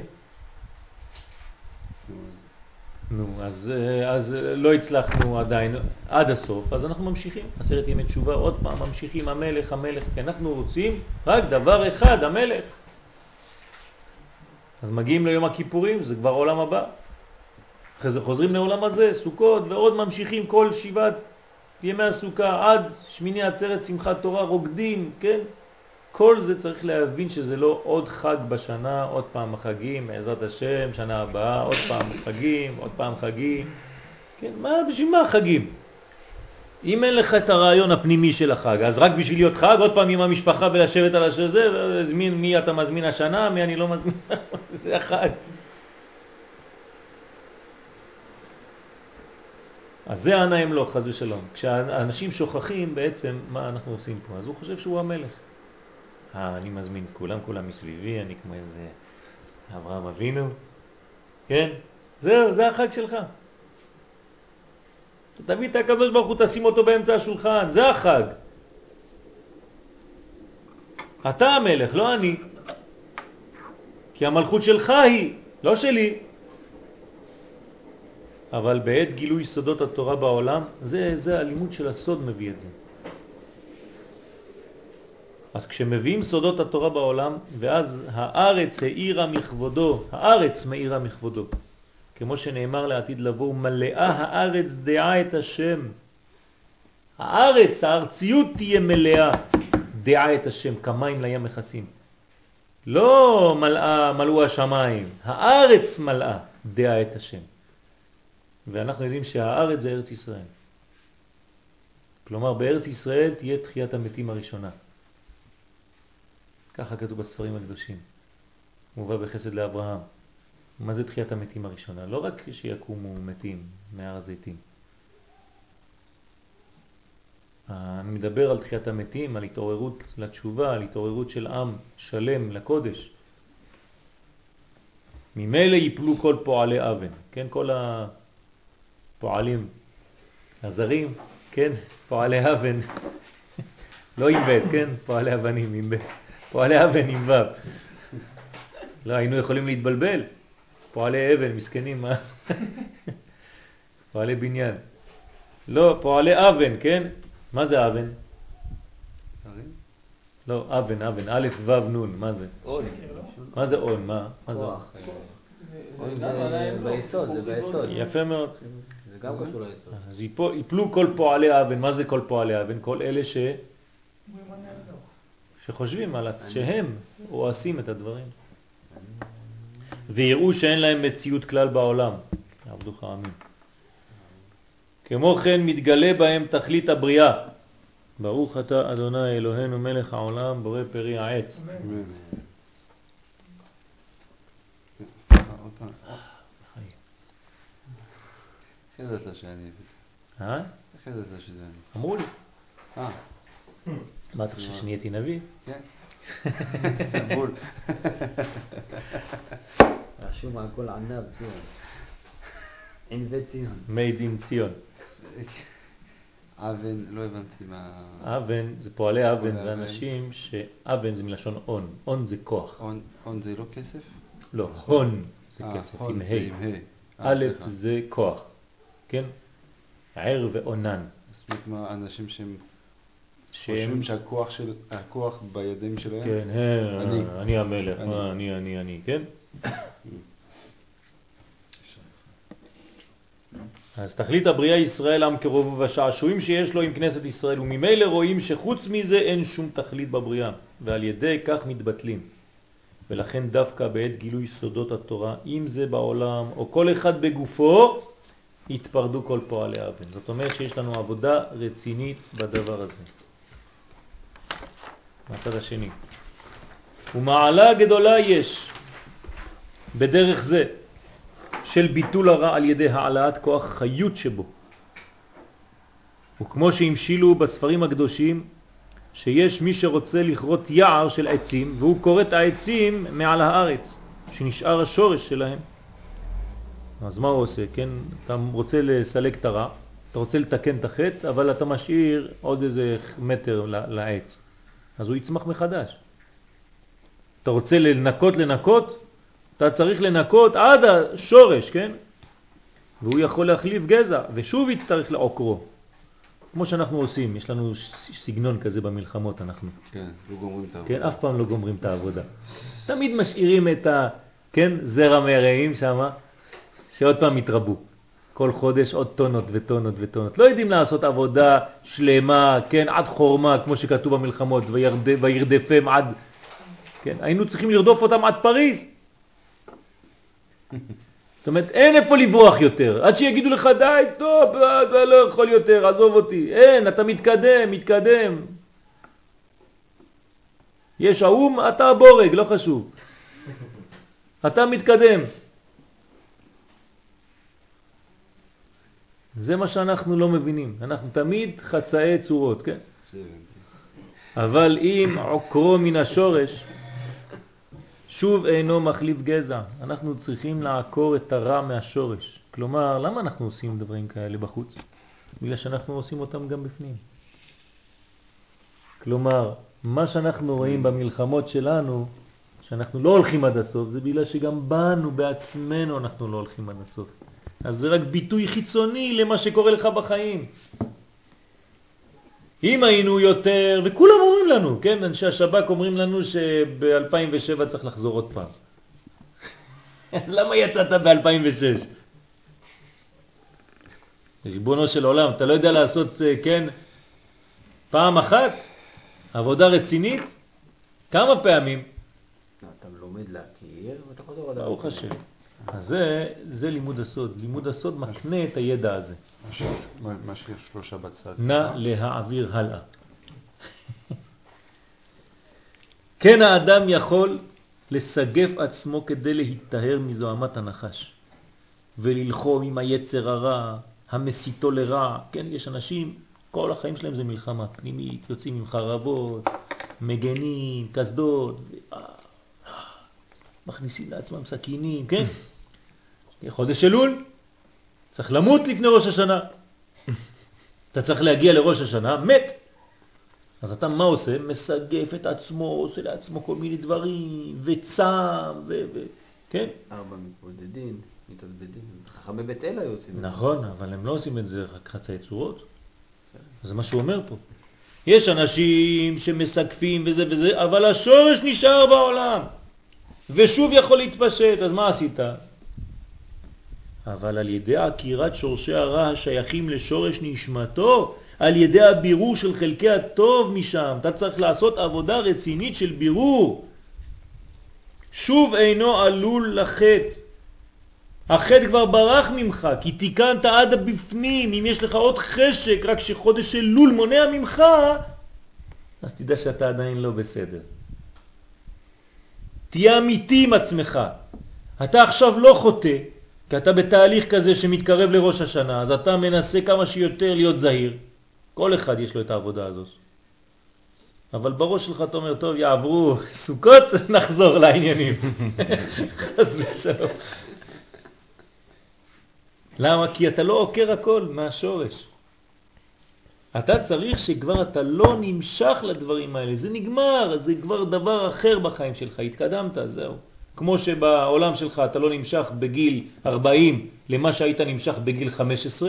נו, אז לא הצלחנו עדיין עד הסוף, אז אנחנו ממשיכים. 10 ימי תשובה, עוד פעם ממשיכים, המלך, המלך, כי אנחנו רוצים רק דבר אחד, המלך. אז מגיעים ליום הכיפורים, זה כבר עולם הבא. אחרי זה חוזרים לעולם הזה, סוכות, ועוד ממשיכים כל 7 ימי הסוכה, עד שמיני עצרת שמחת תורה, רוקדים, כן? כל זה צריך להבין שזה לא עוד חג בשנה, עוד פעם חגים, בעזרת השם, שנה הבאה, עוד פעם חגים, עוד פעם חגים. כן, בשביל מה חגים? אם אין לך את הרעיון הפנימי של החג, אז רק בשביל להיות חג, עוד פעם עם המשפחה ולשבת על השזה, ולהזמין מי אתה מזמין השנה, מי אני לא מזמין, זה החג. אז זה ענה הם לא, חז ושלום. כשאנשים שוכחים בעצם מה אנחנו עושים פה, אז הוא חושב שהוא המלך. אני מזמין את כולם מסביבי, אני כמו איזה אברהם אבינו, כן? זהו, זה החג שלך. תביא את הקדוש ברוך הוא, תשים אותו באמצע השולחן, זה החג. אתה המלך, לא אני. כי המלכות שלך היא, לא שלי. אבל בעת גילוי סודות התורה בעולם, זה הלימוד של הסוד מביא את זה. אז כשמביאים סודות התורה בעולם, ואז הארץ האירה מכבודו, הארץ מאירה מכבודו. כמו שנאמר לעתיד לבוא, מלאה הארץ דעה את השם. הארץ, הארציות תהיה מלאה, דעה את השם, כמים לים מכסים. לא מלאו השמיים, הארץ מלאה, דעה את השם. ואנחנו יודעים שהארץ זה ארץ ישראל. כלומר, בארץ ישראל תהיה תחיית המתים הראשונה. ככה כתוב בספרים הקדושים. מובא בחסד לאברהם. מה זה תחיית המתים הראשונה? לא רק שיקומו מתים מהר הזיתים. אני מדבר על תחיית המתים, על התעוררות לתשובה, על התעוררות של עם שלם לקודש. ממילא ייפלו כל פועלי אבן, כן? כל הפועלים הזרים, כן? פועלי אבן, לא עם בית, כן? פועלי אבנים עם בית. פועלי אבן עם וו. לא, היינו יכולים להתבלבל. פועלי אבן, מסכנים, מה? פועלי בניין. לא, פועלי אבן, כן? מה זה אבן? לא, אבן, א' ו' נון, מה זה? און. מה זה און? מה זה און? און זה ביסוד, זה ביסוד. יפה מאוד. זה גם קשור ליסוד. אז יפלו כל פועלי אבן. מה זה כל פועלי אבן? כל אלה שחושבים על שהם עושים את הדברים. ויראו שאין להם מציאות כלל בעולם. עבדוך אמין. כמו כן מתגלה בהם תכלית הבריאה. ברוך אתה אדוני אלוהינו מלך העולם בורא פרי העץ. אמן. סליחה, עוד פעם. אחרי זה אתה שאני... אחרי זה אתה שזה אני. אמרו לי. מה אתה חושב שנהייתי נביא? כן. בול. רשום על כל ענב ציון. ענבי ציון. made in ציון. אבן, לא הבנתי מה... אבן, זה פועלי אבן, זה אנשים שאבן זה מלשון און. און זה כוח. און זה לא כסף? לא, הון זה כסף, עם ה'. א' זה כוח. כן? ער ואונן. זאת אומרת, אנשים שהם חושבים שהכוח בידיים שלהם? כן, אני המלך, אני, כן? אז תכלית הבריאה ישראל עם קרוב והשעשועים שיש לו עם כנסת ישראל, וממילא רואים שחוץ מזה אין שום תכלית בבריאה, ועל ידי כך מתבטלים. ולכן דווקא בעת גילוי סודות התורה, אם זה בעולם או כל אחד בגופו, התפרדו כל פועלי אבן. זאת אומרת שיש לנו עבודה רצינית בדבר הזה. מהצד השני. ומעלה גדולה יש בדרך זה של ביטול הרע על ידי העלאת כוח חיות שבו. וכמו שהמשילו בספרים הקדושים, שיש מי שרוצה לכרות יער של עצים, והוא קורא את העצים מעל הארץ, שנשאר השורש שלהם. אז מה הוא עושה? כן? אתה רוצה לסלק את הרע, אתה רוצה לתקן את החטא, אבל אתה משאיר עוד איזה מטר לעץ. אז הוא יצמח מחדש. אתה רוצה לנקות, אתה צריך לנקות עד השורש, כן? והוא יכול להחליף גזע, ושוב יצטרך לעוקרו. כמו שאנחנו עושים, יש לנו סגנון כזה במלחמות, אנחנו. כן, לא גומרים את העבודה. כן, אף פעם לא גומרים את העבודה. תמיד משאירים את כן, זרע מרעים שם, שעוד פעם יתרבו. כל חודש עוד טונות וטונות וטונות. לא יודעים לעשות עבודה שלמה, כן, עד חורמה, כמו שכתוב במלחמות, וירדפם עד, כן, היינו צריכים לרדוף אותם עד פריז. זאת אומרת, אין איפה לברוח יותר. עד שיגידו לך, די, סטופ, לא יכול יותר, עזוב אותי. אין, אתה מתקדם. יש האום, אתה בורג, לא חשוב. אתה מתקדם. זה מה שאנחנו לא מבינים. אנחנו תמיד חצאי צורות, כן? אבל אם עוקרו מן השורש, שוב אינו מחליף גזע. אנחנו צריכים לעקור את הרע מהשורש. כלומר, למה אנחנו עושים דברים כאלה בחוץ? בגלל שאנחנו עושים אותם גם בפנים. כלומר, מה שאנחנו רואים במלחמות שלנו, שאנחנו לא הולכים עד הסוף, זה בגלל שגם בנו, בעצמנו, אנחנו לא הולכים עד הסוף. אז זה רק ביטוי חיצוני למה שקורה לך בחיים. אם היינו יותר, וכולם אומרים לנו, כן, אנשי השב"כ אומרים לנו שב-2007 צריך לחזור עוד פעם. למה יצאת ב-2006? ריבונו של עולם, אתה לא יודע לעשות, כן, פעם אחת, עבודה רצינית, כמה פעמים? אתה לומד להכיר ואתה חוזר עוד. ברוך השם. אז זה לימוד הסוד. לימוד הסוד מקנה את הידע הזה. מה שיש שלושה בצד. נא להעביר הלאה. כן, האדם יכול לסגף עצמו כדי להתטהר מזוהמת הנחש וללחום עם היצר הרע, המסיתו לרע. כן, יש אנשים, כל החיים שלהם זה מלחמה פנימית, יוצאים עם חרבות, מגנים, כסדות, מכניסים לעצמם סכינים, כן? חודש אלול, צריך למות לפני ראש השנה. אתה צריך להגיע לראש השנה, מת. אז אתה מה עושה? מסגף את עצמו, עושה לעצמו כל מיני דברים, וצם, כן? 4 מתבודדים, מתעבדים. חכמי בית אל היו עושים. נכון, אבל הם לא עושים את זה רק חצאי צורות. זה מה שהוא אומר פה. יש אנשים שמסגפים וזה וזה, אבל השורש נשאר בעולם. ושוב יכול להתפשט, אז מה עשית? אבל על ידי עקירת שורשי הרע השייכים לשורש נשמתו, על ידי הבירור של חלקי הטוב משם, אתה צריך לעשות עבודה רצינית של בירור. שוב אינו עלול לחטא. החטא כבר ברח ממך, כי תיקנת עד הבפנים. אם יש לך עוד חשק, רק שחודש אלול מונע ממך, אז תדע שאתה עדיין לא בסדר. תהיה אמיתי עם עצמך. אתה עכשיו לא חוטא, כי אתה בתהליך כזה שמתקרב לראש השנה, אז אתה מנסה כמה שיותר להיות זהיר. כל אחד יש לו את העבודה הזאת. אבל בראש שלך אתה אומר, טוב, יעברו סוכות, נחזור לעניינים. חס ושלום. למה? כי אתה לא עוקר הכל מהשורש. אתה צריך שכבר אתה לא נמשך לדברים האלה. זה נגמר, זה כבר דבר אחר בחיים שלך. התקדמת, זהו. כמו שבעולם שלך אתה לא נמשך בגיל 40 למה שהיית נמשך בגיל 15.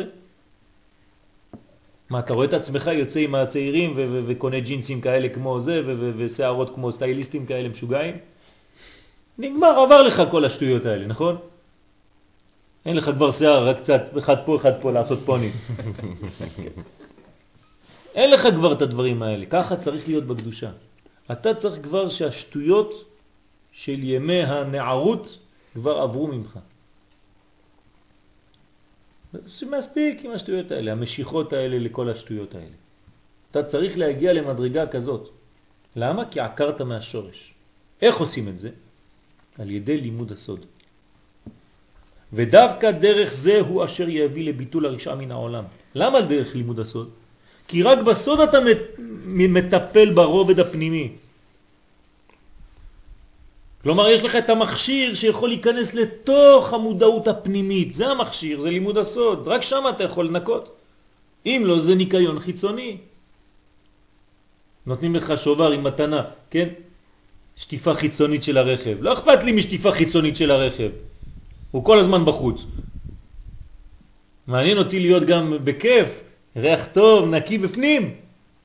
מה, אתה רואה את עצמך יוצא עם הצעירים וקונה ג'ינסים כאלה כמו זה ושערות כמו סטייליסטים כאלה משוגעים? נגמר, עבר לך כל השטויות האלה, נכון? אין לך כבר שיער, רק קצת אחד פה לעשות פוני. אין לך כבר את הדברים האלה. ככה צריך להיות בקדושה. אתה צריך כבר שהשטויות של ימי הנערות כבר עברו ממך. זה מספיק עם השטויות האלה, המשיכות האלה לכל השטויות האלה. אתה צריך להגיע למדרגה כזאת. למה? כי עקרת מהשורש. איך עושים את זה? על ידי לימוד הסוד. ודווקא דרך זה הוא אשר יביא לביטול הרשעה מן העולם. למה דרך לימוד הסוד? כי רק בסוד אתה מטפל ברובד הפנימי. כלומר, יש לך את המכשיר שיכול להיכנס לתוך המודעות הפנימית. זה המכשיר, זה לימוד הסוד. רק שם אתה יכול לנקות. אם לא, זה ניקיון חיצוני. נותנים לך שובר עם מתנה, כן? שטיפה חיצונית של הרכב. לא אכפת לי משטיפה חיצונית של הרכב. הוא כל הזמן בחוץ. מעניין אותי להיות גם בכיף, ריח טוב, נקי בפנים.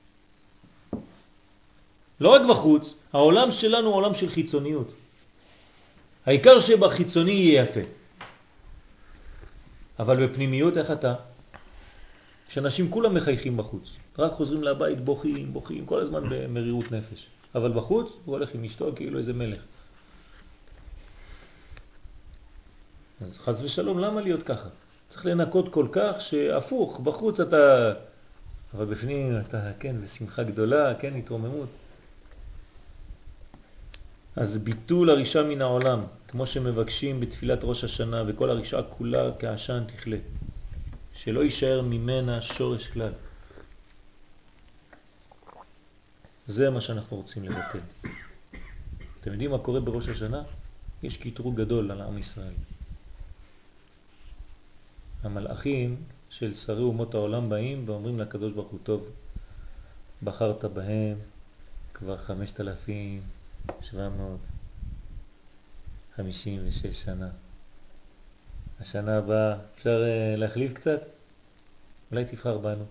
לא רק בחוץ, העולם שלנו הוא עולם של חיצוניות. העיקר שבחיצוני יהיה יפה. אבל בפנימיות איך אתה? כשאנשים כולם מחייכים בחוץ, רק חוזרים לבית בוכים, כל הזמן במרירות נפש. אבל בחוץ הוא הולך עם אשתו כאילו איזה מלך. אז חס ושלום, למה להיות ככה? צריך לנקות כל כך שהפוך, בחוץ אתה, אבל בפנים אתה, כן, בשמחה גדולה, כן, התרוממות. אז ביטול הרשעה מן העולם, כמו שמבקשים בתפילת ראש השנה, וכל הרשעה כולה כעשן תכלה, שלא יישאר ממנה שורש כלל. זה מה שאנחנו רוצים לבטל. אתם אתם יודעים מה קורה בראש השנה? יש קטרוג גדול על עם ישראל. המלאכים של שרי אומות העולם באים ואומרים לקדוש ברוך הוא, טוב, בחרת בהם כבר 5,756 שנה. השנה הבאה אפשר להחליף קצת? אולי תבחר בנו.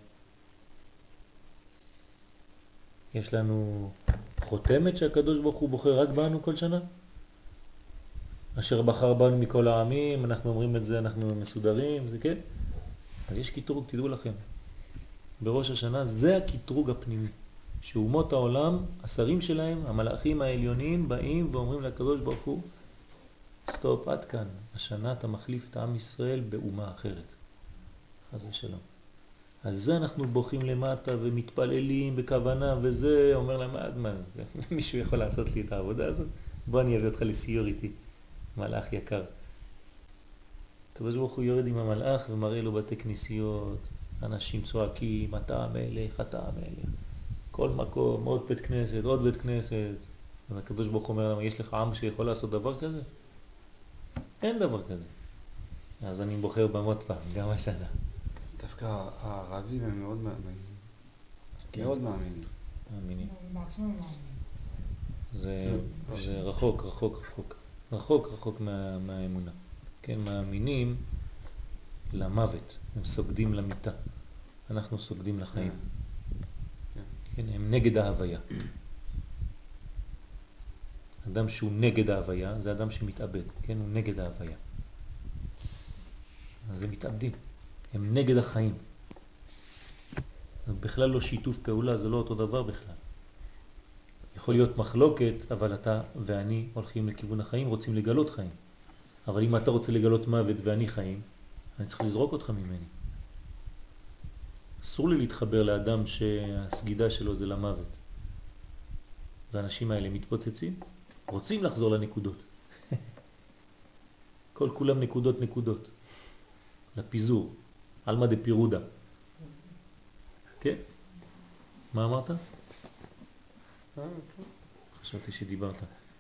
יש לנו חותמת שהקדוש ברוך הוא בוחר רק בנו כל שנה? אשר בחר בנו מכל העמים, אנחנו אומרים את זה, אנחנו מסודרים, זה כן? אז יש קטרוג, תדעו לכם. בראש השנה זה הקטרוג הפנימי. שאומות העולם, השרים שלהם, המלאכים העליונים, באים ואומרים לקדוש ברוך הוא, סטופ, עד כאן. השנה אתה מחליף את עם ישראל באומה אחרת. חס ושלום. על זה אנחנו בוכים למטה ומתפללים בכוונה, וזה אומר להם, מה, מישהו יכול לעשות לי את העבודה הזאת? בוא אני אביא אותך לסיור איתי. מלאך יקר. הקדוש ברוך הוא יורד עם המלאך ומראה לו בתי כנסיות, אנשים צועקים, אתה המלך, אתה המלך. כל מקום, עוד בית כנסת, עוד בית כנסת. אז הקדוש ברוך הוא אומר להם, יש לך עם שיכול לעשות דבר כזה? אין דבר כזה. אז אני בוחר במות פעם, גם השנה. דווקא הערבים הם מאוד מאמינים. מאוד מאמינים. מאמינים. בעצמם מאמינים. זה רחוק, רחוק, רחוק. רחוק, רחוק מהאמונה. כן, מאמינים למוות. הם סוגדים למיטה. אנחנו סוגדים לחיים. כן, הם נגד ההוויה. אדם שהוא נגד ההוויה, זה אדם שמתאבד. כן, הוא נגד ההוויה. אז הם מתאבדים. הם נגד החיים. זה בכלל לא שיתוף פעולה, זה לא אותו דבר בכלל. יכול להיות מחלוקת, אבל אתה ואני הולכים לכיוון החיים, רוצים לגלות חיים. אבל אם אתה רוצה לגלות מוות ואני חיים, אני צריך לזרוק אותך ממני. אסור לי להתחבר לאדם שהסגידה שלו זה למוות. והאנשים האלה מתפוצצים, רוצים לחזור לנקודות. כל כולם נקודות נקודות. לפיזור. אלמה דפירודה. כן? מה אמרת? חשבתי שדיברת.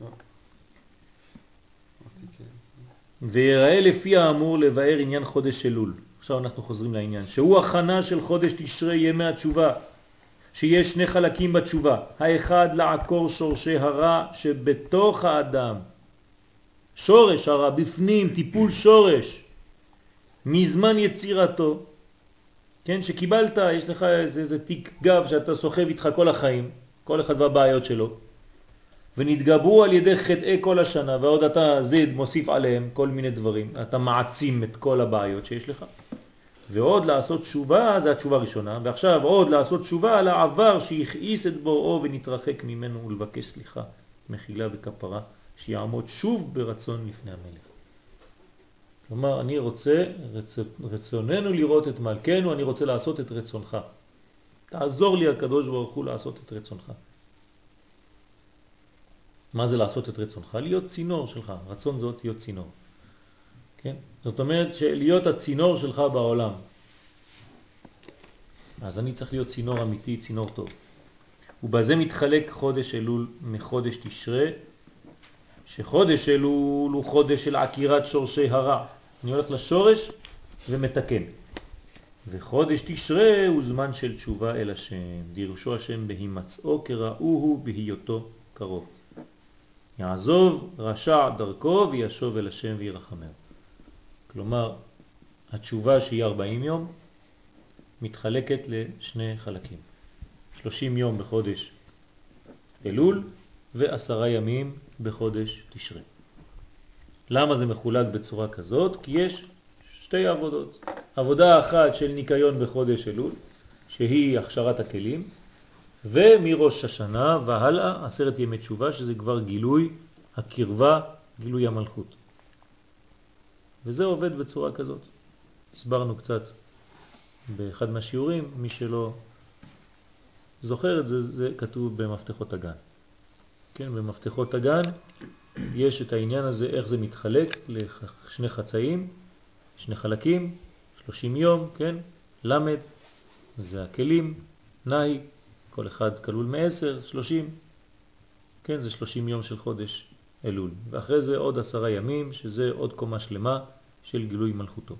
ויראה לפי האמור לבאר עניין חודש אלול. עכשיו אנחנו חוזרים לעניין. שהוא הכנה של חודש תשרי ימי התשובה. שיש שני חלקים בתשובה. האחד לעקור שורשי הרע שבתוך האדם. שורש הרע בפנים, טיפול שורש. מזמן יצירתו. כן, שקיבלת, יש לך איזה תיק גב שאתה סוחב איתך כל החיים. כל אחד והבעיות שלו. ונתגברו על ידי חטאי כל השנה, ועוד אתה זד מוסיף עליהם כל מיני דברים. אתה מעצים את כל הבעיות שיש לך. ועוד לעשות תשובה, זה התשובה הראשונה, ועכשיו עוד לעשות תשובה על העבר שיכעיס את בוראו ונתרחק ממנו ולבקש סליחה, מחילה וכפרה, שיעמוד שוב ברצון לפני המלך. כלומר, אני רוצה, רצוננו לראות את מלכנו, אני רוצה לעשות את רצונך. תעזור לי הקדוש ברוך הוא לעשות את רצונך. מה זה לעשות את רצונך? להיות צינור שלך. רצון זאת להיות צינור. כן? זאת אומרת שלהיות הצינור שלך בעולם. אז אני צריך להיות צינור אמיתי, צינור טוב. ובזה מתחלק חודש אלול מחודש תשרי, שחודש אלול הוא חודש של עקירת שורשי הרע. אני הולך לשורש ומתקן. וחודש תשרי הוא זמן של תשובה אל השם. דירשו השם בהימצאו כראוהו בהיותו קרוב. יעזוב רשע דרכו וישוב אל השם וירחמהו. כלומר, התשובה שהיא 40 יום מתחלקת לשני חלקים. 30 יום בחודש אלול ו10 ימים בחודש תשרי. למה זה מחולק בצורה כזאת? כי יש שתי עבודות. עבודה אחת של ניקיון בחודש אלול, שהיא הכשרת הכלים, ומראש השנה והלאה 10 ימי תשובה, שזה כבר גילוי הקרבה, גילוי המלכות. וזה עובד בצורה כזאת. הסברנו קצת באחד מהשיעורים, מי שלא זוכר את זה, זה כתוב במפתחות הגן. כן, במפתחות הגן יש את העניין הזה, איך זה מתחלק לשני חצאים, שני חלקים, 30 יום, כן? למד, זה הכלים, נאי, כל אחד כלול מ10, 30. כן, זה 30 יום של חודש אלול. ואחרי זה עוד 10 ימים, שזה עוד קומה שלמה של גילוי מלכותו.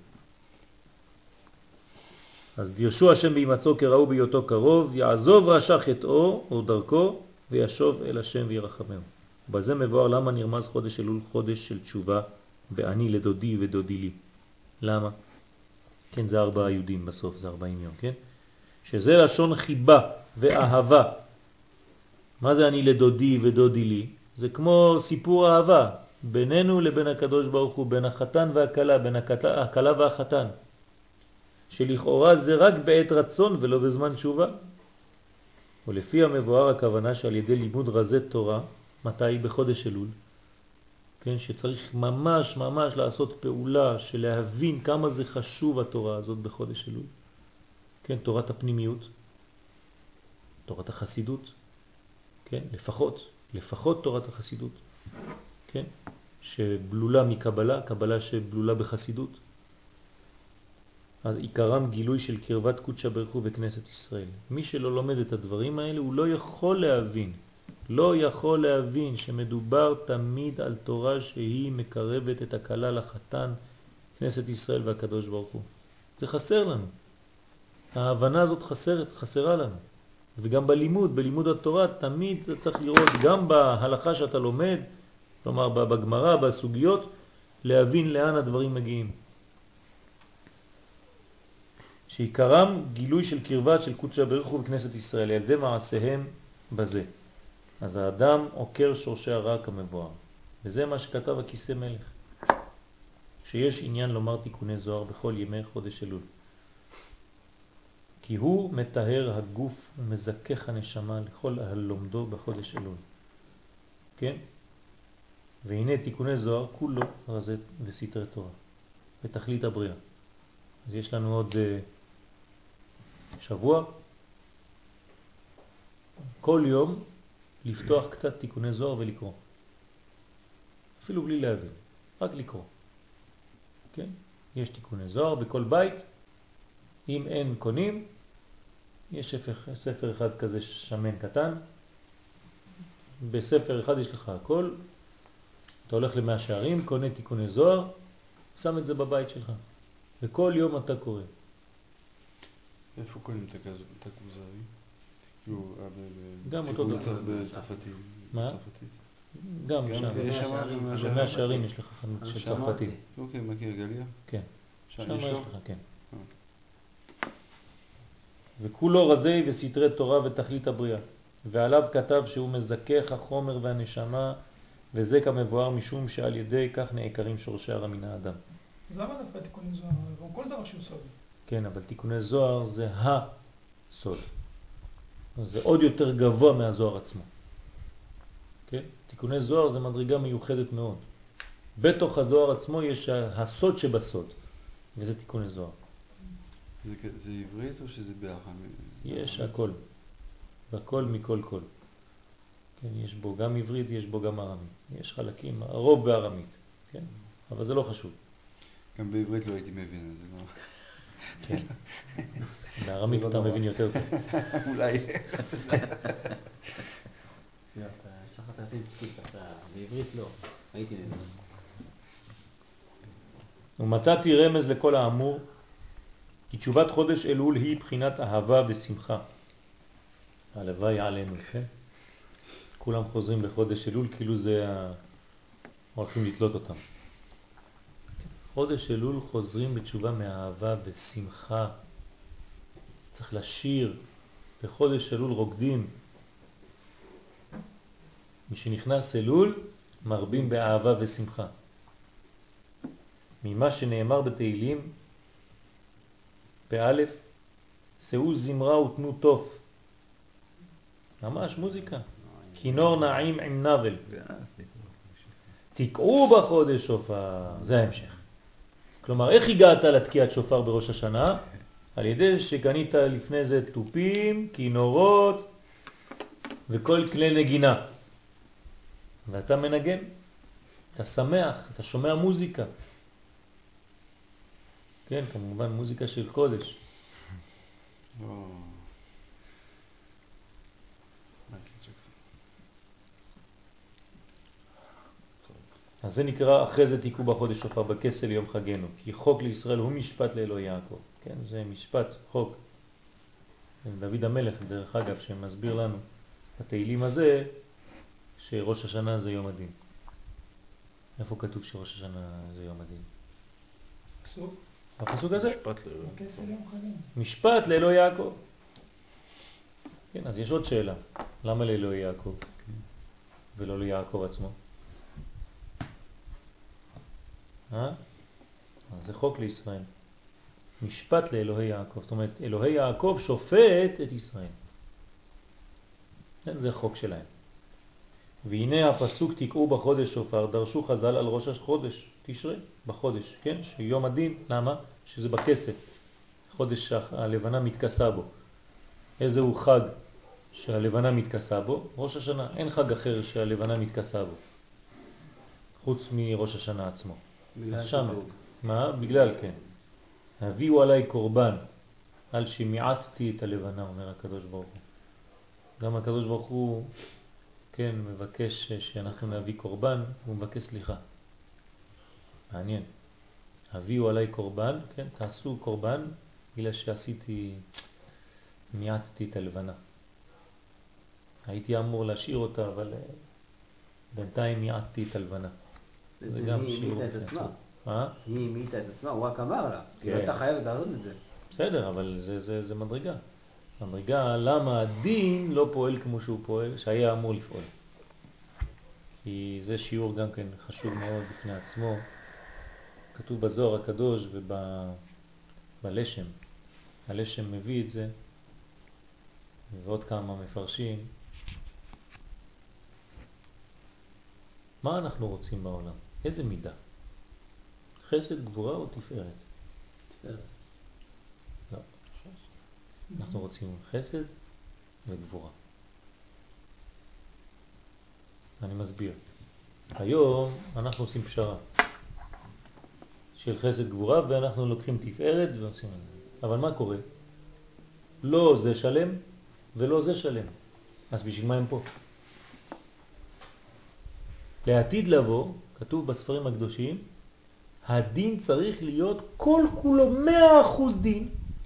אז וירשו השם בהימצאו כראו בהיותו קרוב, יעזוב רשע חטאו או דרכו, וישוב אל השם וירחמהו. בזה מבואר למה נרמז חודש אלול חודש של תשובה, בעני לדודי ודודי לי. למה? כן, זה 4 יהודים בסוף, זה 40 יום, כן? שזה לשון חיבה ואהבה. מה זה אני לדודי ודודי לי? זה כמו סיפור אהבה בינינו לבין הקדוש ברוך הוא, בין החתן והכלה, בין הכלה והחתן. שלכאורה זה רק בעת רצון ולא בזמן תשובה. ולפי המבואר הכוונה שעל ידי לימוד רזי תורה, מתי? בחודש אלול. כן, שצריך ממש לעשות פעולה של להבין כמה זה חשוב התורה הזאת בחודש אלול. כן, תורת הפנימיות, תורת החסידות, כן, לפחות תורת החסידות, כן, שבלולה מקבלה, קבלה שבלולה בחסידות. אז עיקרם גילוי של קרבת קודשא בריך הוא בכנסת ישראל. מי שלא לומד את הדברים האלה הוא לא יכול להבין שמדובר תמיד על תורה שהיא מקרבת את הכלה לחתן, כנסת ישראל והקדוש ברוך הוא. זה חסר לנו. ההבנה הזאת חסרה לנו. וגם בלימוד התורה תמיד צריך לראות גם בהלכה שאתה לומד, כלומר בגמרא, בסוגיות, להבין לאן הדברים מגיעים. שעיקרם גילוי של קרבת של קודשא בריך הוא בכנסת ישראל, על ידי מעשיהם בזה. אז האדם עוקר שורשי הרע כמבואר. וזה מה שכתב הכיסא מלך. שיש עניין לומר תיקוני זוהר בכל ימי חודש אלול. כי הוא מטהר הגוף ומזכך הנשמה לכל הלומדו בחודש אלול. כן? והנה תיקוני זוהר כולו רזי וסתרי תורה. בתכלית הבריאה. אז יש לנו עוד שבוע. כל יום לפתוח קצת תיקוני זוהר ולקרוא. אפילו בלי להבין, רק לקרוא. כן? יש תיקוני זוהר בכל בית. אם אין קונים, יש ספר אחד כזה שמן קטן. בספר אחד יש לך הכל. אתה הולך למאה שערים, קונה תיקוני זוהר, שם את זה בבית שלך. וכל יום אתה קורא. איפה קונים את הכוזרי? גם אותו דבר. בצרפתית. מה? גם שם. במאה שערים יש לך חנות של צרפתים. אוקיי, מכיר גליה? כן. שם יש לך, כן. וכולו רזי וסתרי תורה ותכלית הבריאה. ועליו כתב שהוא מזכך החומר והנשמה, וזה כמבואר משום שעל ידי כך נעקרים שורשי הרע מן האדם. אז למה דווקא תיקוני זוהר? גם כל דבר שהוא סוד. כן, אבל תיקוני זוהר זה הסוד. זה עוד יותר גבוה מהזוהר עצמו. כן? תיקוני זוהר זה מדרגה מיוחדת מאוד. בתוך הזוהר עצמו יש הסוד שבסוד, וזה תיקוני זוהר. זה עברית או שזה בארמית? יש הכל. הכל מכל כל. כן, יש בו גם עברית, יש בו גם ארמית. יש חלקים, הרוב בארמית. כן? אבל זה לא חשוב. גם בעברית לא הייתי מבין, אז זה לא... כן. בארמית אתה מבין יותר טוב. אולי. יש לך תעשים פסיק, בעברית לא, הייתי מבין. ומצאתי רמז לכל האמור, כי תשובת חודש אלול היא בחינת אהבה ושמחה. הלוואי עלינו, כן? כולם חוזרים לחודש אלול, כאילו זה הולכים לתלות אותם. חודש אלול חוזרים בתשובה מאהבה ושמחה. צריך לשיר, בחודש אלול רוקדים. מי שנכנס אלול מרבים באהבה ושמחה. ממה שנאמר בתהילים, באלף, שאו זמרה ותנו טוב. ממש מוזיקה. כינור נעים עם נבל. תקעו בחודש שופר. זה ההמשך. כלומר, איך הגעת לתקיעת שופר בראש השנה? על ידי שקנית לפני זה טופים, כינורות וכל כלי נגינה. ואתה מנגן. אתה שמח, אתה שומע מוזיקה. כן, כמובן מוזיקה של קודש. אז זה נקרא אחרי זה תיקעו בחודש שופר בכסל יום חגנו, כי חוק לישראל הוא משפט לאלוהי יעקב. כן, זה משפט, חוק. דוד המלך, דרך אגב, שמסביר לנו בתהילים הזה, שראש השנה זה יום הדין. איפה כתוב שראש השנה זה יום הדין? פסוק? הפסוק הזה? בכסל יום חגנו. משפט לאלוהי יעקב. כן, אז יש עוד שאלה. למה לאלוהי יעקב? ולא ליעקב עצמו? אז זה חוק לישראל. משפט לאלוהי יעקב. זאת אומרת, אלוהי יעקב שופט את ישראל. כן, זה חוק שלהם. והנה הפסוק תקעו בחודש שופר, דרשו חז"ל על ראש החודש, תשרי, בחודש, כן? שיום הדין, למה? שזה בכסף. חודש הלבנה מתכסה בו. איזהו חג שהלבנה מתכסה בו? ראש השנה. אין חג אחר שהלבנה מתכסה בו. חוץ מראש השנה עצמו. בגלל שם. שדרוג. מה? בגלל, כן. הביאו עליי קורבן, על שמיעטתי את הלבנה, אומר הקדוש ברוך הוא. גם הקדוש ברוך הוא, כן, מבקש שאנחנו נביא קורבן, הוא מבקש סליחה. מעניין. הביאו עליי קורבן, כן, תעשו קורבן, בגלל שעשיתי, מיעטתי את הלבנה. הייתי אמור להשאיר אותה, אבל בינתיים מיעטתי את הלבנה. זה גם היא שיעור. מיעטה את עצמה. מה? היא מיעטה את עצמה, הוא רק אמר לה. היא כן. לא הייתה חייבת לעשות את זה. בסדר, אבל זה מדרגה. מדרגה למה הדין לא פועל כמו שהוא פועל, שהיה אמור לפעול. כי זה שיעור גם כן חשוב מאוד בפני עצמו. כתוב בזוהר הקדוש ובלשם. הלשם מביא את זה, ועוד כמה מפרשים. מה אנחנו רוצים בעולם? איזה מידה? חסד, גבורה או תפארת? תפארת. לא. אנחנו רוצים חסד וגבורה. אני מסביר. היום אנחנו עושים פשרה של חסד גבורה, ואנחנו לוקחים תפארת ועושים את זה. אבל מה קורה? לא זה שלם ולא זה שלם. אז בשביל מה הם פה? לעתיד לבוא, כתוב בספרים הקדושים, הדין צריך להיות כל כולו 100% דין,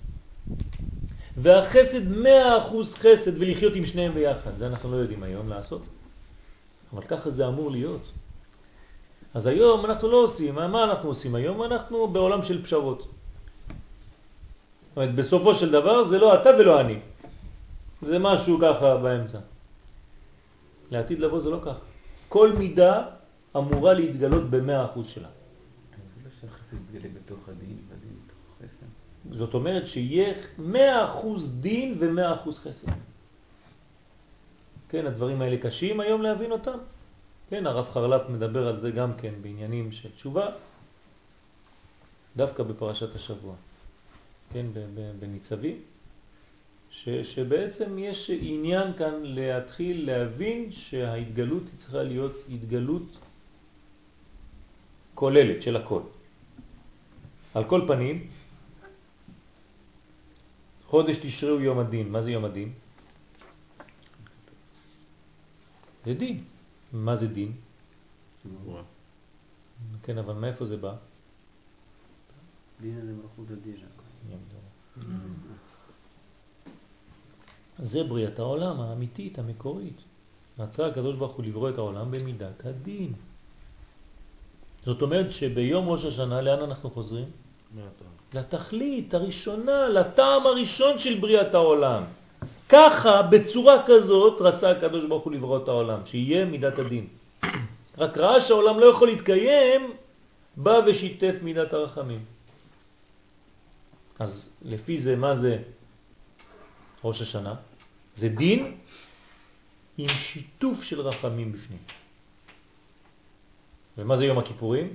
והחסד 100% חסד, ולחיות עם שניהם ביחד. זה אנחנו לא יודעים היום לעשות, אבל ככה זה אמור להיות. אז היום אנחנו לא עושים. מה אנחנו עושים היום? אנחנו בעולם של פשרות. זאת אומרת, בסופו של דבר זה לא אתה ולא אני. זה משהו ככה באמצע. לעתיד לבוא זה לא ככה. כל מידה אמורה להתגלות ב100% שלה. זה לא שהחסד יתגלה בתוך הדין, והדין בתוך חסד. זאת אומרת שיהיה 100% דין ו100% חסד. כן, הדברים האלה קשים היום להבין אותם. כן, הרב חרל"פ מדבר על זה גם כן בעניינים של תשובה, דווקא בפרשת השבוע. כן, בניצבים, שבעצם יש עניין כאן להתחיל להבין שההתגלות צריכה להיות התגלות כוללת של הכל. על כל פנים, חודש תשרי הוא יום הדין. מה זה יום הדין? זה דין. מה זה דין? גבורה. כן, אבל מאיפה זה בא? דין זה מלכות הדין. זה בריאת העולם האמיתית, המקורית. רצה הקדוש ברוך הוא לברוא את העולם במידת הדין. זאת אומרת שביום ראש השנה לאן אנחנו חוזרים? לתכלית הראשונה, לטעם הראשון של בריאת העולם. ככה, בצורה כזאת, רצה הקדוש ברוך הוא לברוא את העולם, שיהיה מידת הדין. רק ראה שהעולם לא יכול להתקיים, בא ושיתף מידת הרחמים. אז לפי זה, מה זה ראש השנה? זה דין עם שיתוף של רחמים בפנים. ומה זה יום הכיפורים?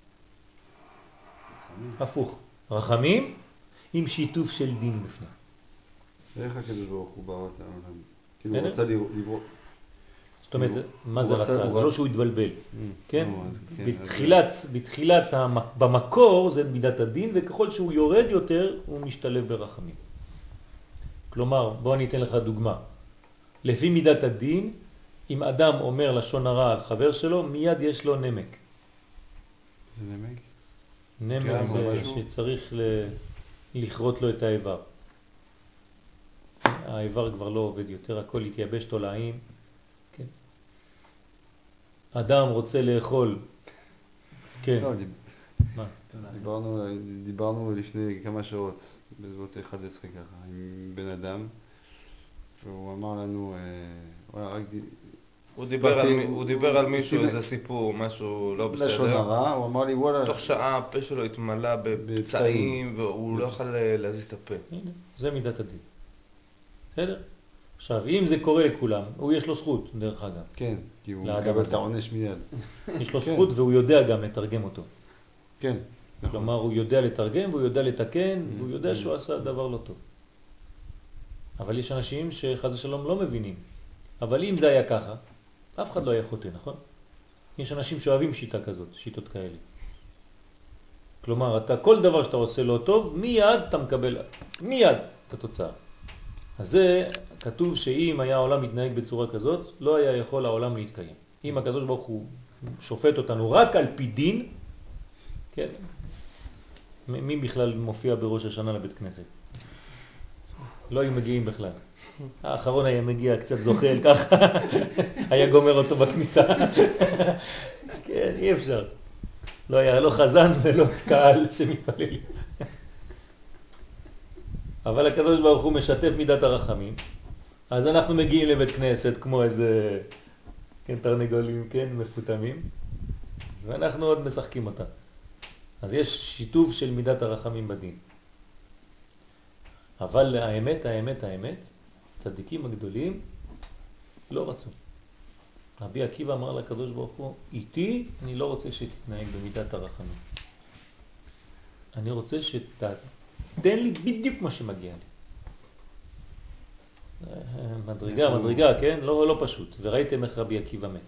הפוך. רחמים עם שיתוף של דין בפנים. איך הקדוש ברוך הוא ברא את העולם? כאילו הוא רצה לברוא. זאת אומרת, מה זה רצה? זה לא שהוא התבלבל. כן? בתחילת, במקור זה מידת הדין, וככל שהוא יורד יותר, הוא משתלב ברחמים. כלומר, בוא אני אתן לך דוגמה. לפי מידת הדין, אם אדם אומר לשון הרע על חבר שלו, מיד יש לו נמק. זה נמק? נמק גם זה משהו? שצריך לכרות לו את האיבר. האיבר כבר לא עובד יותר, הכל התייבש תולעים. כן. אדם רוצה לאכול. כן. לא, מה? דיברנו לפני כמה שעות, בסביבות 11 ככה, עם בן אדם, והוא אמר לנו, הוא דיבר על מישהו, איזה סיפור, משהו לא בסדר. לשון הרע, הוא אמר לי וואלה... תוך שעה הפה שלו התמלא בפצעים, והוא לא יכול להזיז את הפה. זה מידת הדין. בסדר? עכשיו, אם זה קורה לכולם, הוא יש לו זכות, דרך אגב. כן, כי הוא לאדם מקבל הזה. את העונש מיד. יש לו כן. זכות והוא יודע גם לתרגם אותו. כן, נכון. כלומר, הוא יודע לתרגם והוא יודע לתקן והוא יודע שהוא עשה דבר לא טוב. אבל יש אנשים שחס ושלום לא מבינים. אבל אם זה היה ככה, אף אחד לא היה חוטא, נכון? יש אנשים שאוהבים שיטה כזאת, שיטות כאלה. כלומר, כל דבר שאתה עושה לא טוב, מיד אתה מקבל, מיד את התוצאה. אז זה כתוב שאם היה העולם מתנהג בצורה כזאת, לא היה יכול העולם להתקיים. אם הקדוש ברוך הוא שופט אותנו רק על פי דין, כן? מי בכלל מופיע בראש השנה לבית כנסת? לא היו מגיעים בכלל. האחרון היה מגיע קצת זוחל ככה, היה גומר אותו בכניסה. כן, אי אפשר. לא היה לא חזן ולא קהל שמתפלל. אבל הקדוש ברוך הוא משתף מידת הרחמים, אז אנחנו מגיעים לבית כנסת כמו איזה, כן, תרנגולים, כן, מפותמים, ואנחנו עוד משחקים אותה. אז יש שיתוף של מידת הרחמים בדין. אבל האמת, צדיקים הגדולים לא רצו. רבי עקיבא אמר לקדוש ברוך הוא, איתי אני לא רוצה שתתנהג במידת הרחמים. אני רוצה תן לי בדיוק מה שמגיע לי. מדרגה, כן? לא פשוט. וראיתם איך רבי עקיבא מת.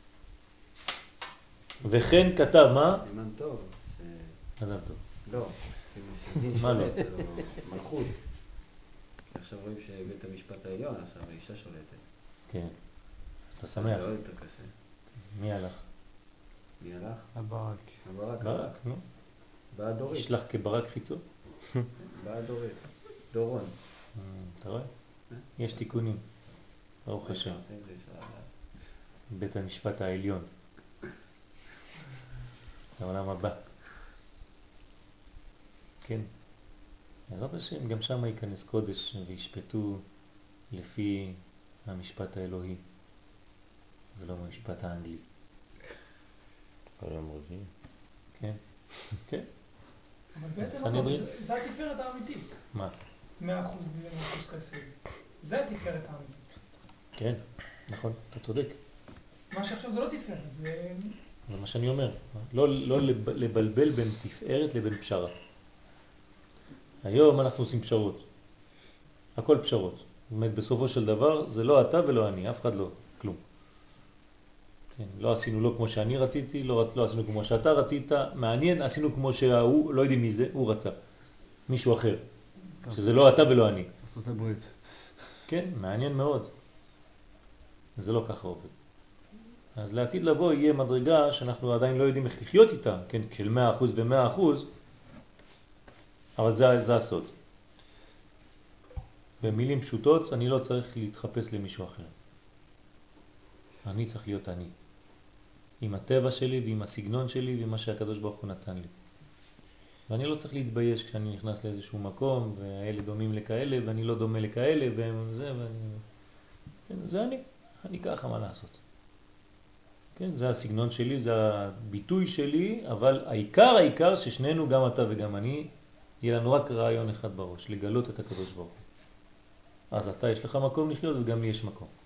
וכן כתב, מה? סימן טוב. מזל טוב. לא, סימן מה לא? מלכות. עכשיו רואים שבית המשפט העליון, עכשיו האישה שולטת. כן. אתה שמח. זה עוד יותר קשה. מי הלך? מי הלך? הברק. הברק. נו. באה דורית. ישלח כברק חיצו. באה דורית. דורון. אתה רואה? יש תיקונים. ברוך השם. בית המשפט העליון. זה העולם הבא. כן. בעזרת השם, גם שם ייכנס קודש וישפטו לפי המשפט האלוהי, ולא המשפט האנגלי. העולם רגיל. כן, כן. אבל בעצם סנהדרין? זה התפארת האמיתית. מה? 100% דין, 100% חסד. זה התפארת האמיתית. כן, נכון, אתה צודק. מה שעכשיו זה לא תפארת, זה... זה מה שאני אומר. לא לבלבל בין תפארת לבין פשרה. היום אנחנו עושים פשרות. הכל פשרות. זאת אומרת, בסופו של דבר זה לא אתה ולא אני, אף אחד לא, כלום. כן, לא עשינו לא כמו שאני רציתי, לא עשינו כמו שאתה רצית, מעניין, עשינו כמו שהוא, לא יודעים מי זה, הוא רצה. מישהו אחר. שזה לא אתה ולא אני. ארצות הברית. כן, מעניין מאוד. זה לא ככה עובד. אז לעתיד לבוא יהיה מדרגה שאנחנו עדיין לא יודעים איך לחיות איתה, כן, של 100% ו100%, אבל זה הסוד. במילים פשוטות, אני לא צריך להתחפש למישהו אחר. אני צריך להיות אני. עם הטבע שלי ועם הסגנון שלי ומה שהקדוש ברוך הוא נתן לי. ואני לא צריך להתבייש כשאני נכנס לאיזשהו מקום, והאלה דומים לכאלה, ואני לא דומה לכאלה, וזה, כן, זה אני ככה, מה לעשות? כן, זה הסגנון שלי, זה הביטוי שלי, אבל העיקר ששנינו, גם אתה וגם אני, יהיה לנו רק רעיון אחד בראש, לגלות את הקדוש ברוך הוא. אז אתה יש לך מקום לחיות וגם לי יש מקום.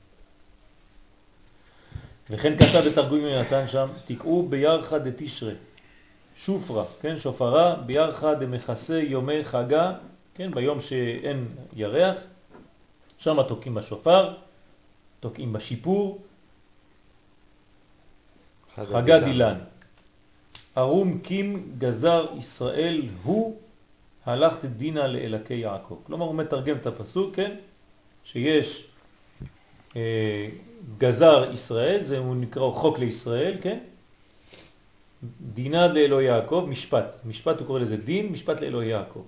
וכן כתב בתרגום יונתן שם, תקעו בירחה דתשרה, שופרה, כן, שופרה, בירחה דמכסה יומי חגה, כן, ביום שאין ירח, שם תוקעים בשופר, תוקעים בשיפור, חגה דילן. ארום קים גזר ישראל הוא הלכת דינה לאלקי יעקב. כלומר הוא מתרגם את הפסוק, כן? שיש גזר ישראל, זה הוא נקרא חוק לישראל, כן? דינה לאלוהי יעקב, משפט הוא קורא לזה דין, משפט לאלוהי יעקב.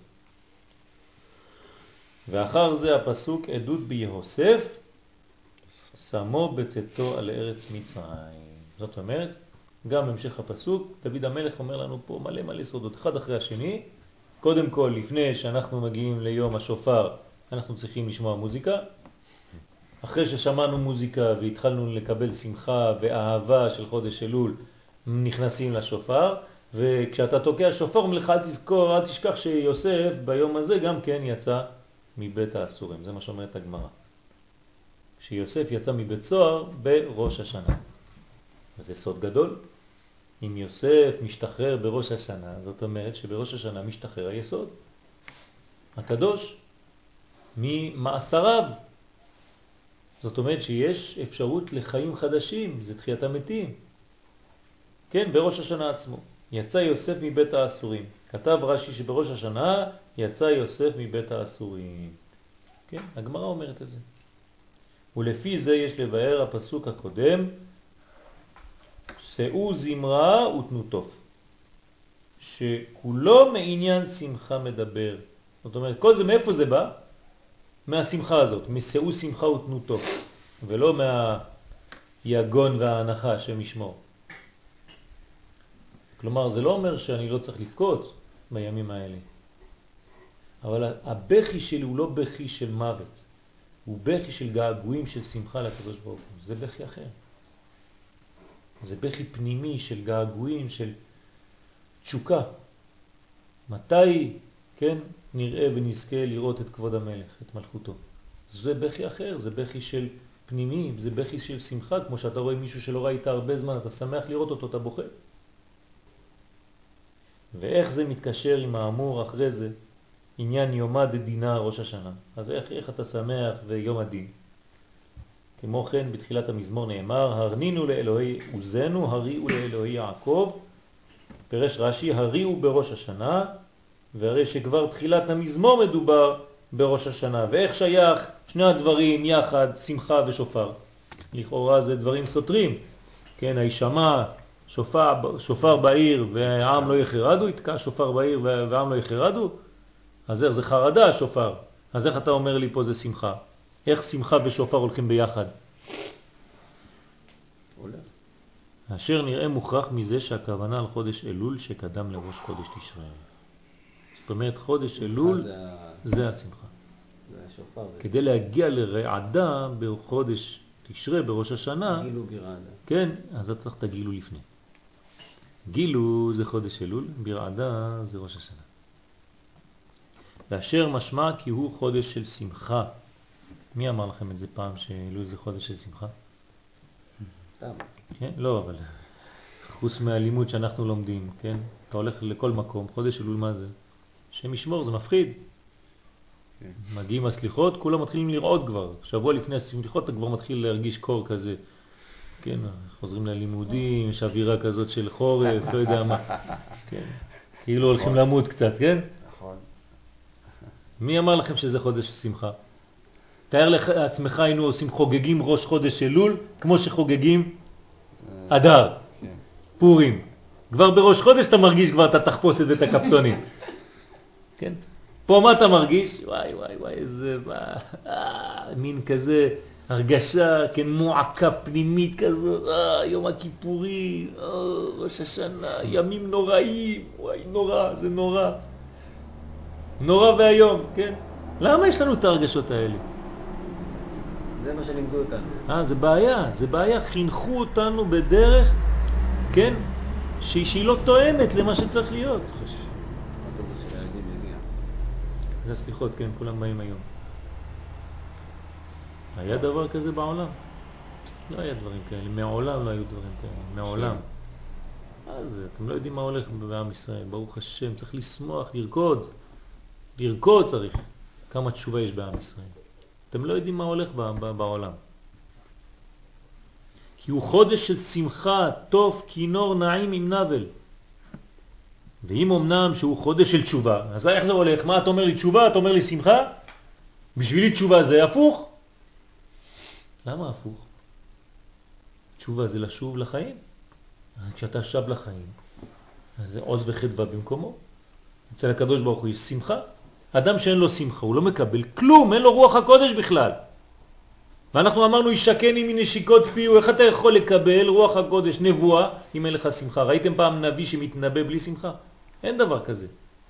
ואחר זה הפסוק עדות ביהוסף, שמו בצאתו על ארץ מצרים. זאת אומרת, גם המשך הפסוק, דוד המלך אומר לנו פה מלא סודות, אחד אחרי השני. קודם כל, לפני שאנחנו מגיעים ליום השופר, אנחנו צריכים לשמוע מוזיקה. אחרי ששמענו מוזיקה והתחלנו לקבל שמחה ואהבה של חודש אלול, נכנסים לשופר, וכשאתה תוקע שופר מלך אל תזכור, אל תשכח שיוסף ביום הזה גם כן יצא מבית האסורים. זה מה שאומרת הגמרא. שיוסף יצא מבית סוהר בראש השנה. וזה סוד גדול. אם יוסף משתחרר בראש השנה, זאת אומרת שבראש השנה משתחרר היסוד הקדוש ממאסריו. זאת אומרת שיש אפשרות לחיים חדשים, זה תחיית המתים. כן, בראש השנה עצמו. יצא יוסף מבית האסורים. כתב רש"י שבראש השנה יצא יוסף מבית האסורים. כן, הגמרא אומרת את זה. ולפי זה יש לבאר הפסוק הקודם, שאו זמרה ותנו טוב, שכולו מעניין שמחה מדבר. זאת אומרת, כל זה מאיפה זה בא? מהשמחה הזאת, מסעו שמחה ותנו טוב, ולא מהיגון וההנחה שמשמור. כלומר, זה לא אומר שאני לא צריך לבכות בימים האלה. אבל הבכי שלי הוא לא בכי של מוות. הוא בכי של געגועים של שמחה לקדוש ברוך הוא. זה בכי אחר. זה בכי פנימי של געגועים, של תשוקה. מתי, כן, נראה ונזכה לראות את כבוד המלך, את מלכותו. זה בכי אחר, זה בכי של פנימי, זה בכי של שמחה, כמו שאתה רואה מישהו שלא ראית הרבה זמן, אתה שמח לראות אותו, אתה בוכה. ואיך זה מתקשר עם האמור אחרי זה, עניין יומא דדינה ראש השנה. אז איך אתה שמח ויום הדין? כמו כן בתחילת המזמור נאמר, הרנינו לאלוהי עוזנו, הריעו לאלוהי יעקב. פרש רש"י, הריעו בראש השנה, והרי שכבר תחילת המזמור מדובר בראש השנה. ואיך שייך שני הדברים יחד, שמחה ושופר? לכאורה זה דברים סותרים. כן, הישמע שופר בעיר והעם לא יחרדו, יתקע שופר בעיר והעם לא יחרדו. אז איך זה חרדה שופר? אז איך אתה אומר לי פה זה שמחה? איך שמחה ושופר הולכים ביחד? אשר נראה מוכרח מזה שהכוונה על חודש אלול שקדם לראש חודש תשרי. זאת אומרת חודש אלול זה השמחה. כדי להגיע לרעדה בחודש תשרי בראש השנה, גילו ברעדה. כן, אז אתה צריך את הגילו לפני. גילו זה חודש אלול, ברעדה זה ראש השנה. ואשר משמע כי הוא חודש של שמחה. מי אמר לכם את זה פעם שאלול זה חודש של שמחה? סתם. כן? לא, אבל חוץ מהלימוד שאנחנו לומדים, כן? אתה הולך לכל מקום, חודש אלול מה זה? שם ישמור, זה מפחיד. כן. מגיעים הסליחות, כולם מתחילים לראות כבר. שבוע לפני הסליחות אתה כבר מתחיל להרגיש קור כזה. כן, חוזרים ללימודים, יש אווירה כזאת של חורף, לא יודע מה. כן. כאילו הולכים למות קצת, כן? נכון. מי אמר לכם שזה חודש שמחה? תאר לעצמך היינו עושים חוגגים ראש חודש אלול, כמו שחוגגים אדר, פורים. כבר בראש חודש אתה מרגיש כבר את התחפושת ואת הקפצונים. כן? פה מה אתה מרגיש? וואי, איזה מין כזה הרגשה, כן, מועקה פנימית כזו, יום הכיפורים, ראש השנה, ימים נוראים, וואי, נורא, זה נורא. נורא והיום, כן? למה יש לנו את הרגשות האלה? זה מה שלימדו אותנו. זה בעיה, חינכו אותנו בדרך, כן? שהיא לא תואמת למה שצריך להיות. האוטובוס של הילדים יגיע. זה הסליחות, כן, כולם באים היום. היה דבר כזה בעולם? לא היה דברים כאלה, מעולם לא היו דברים כאלה, מעולם. אז אתם לא יודעים מה הולך בעם ישראל, ברוך השם, צריך לשמוח, לרקוד צריך. כמה תשובה יש בעם ישראל. אתם לא יודעים מה הולך בעולם. כי הוא חודש של שמחה, טוב, כינור, נעים עם נבל. ואם אמנם שהוא חודש של תשובה, אז איך זה הולך? מה אתה אומר לי תשובה? אתה אומר לי שמחה? בשבילי תשובה זה הפוך? למה הפוך? תשובה זה לשוב לחיים. כשאתה שב לחיים, אז זה עוז וחדווה במקומו. אצל הקדוש ברוך הוא יש שמחה. אדם שאין לו שמחה, הוא לא מקבל כלום, אין לו רוח הקודש בכלל. ואנחנו אמרנו, ישקני מנשיקות פיו, איך אתה יכול לקבל רוח הקודש, נבואה, אם אין לך שמחה? ראיתם פעם נביא שמתנבא בלי שמחה? אין דבר כזה.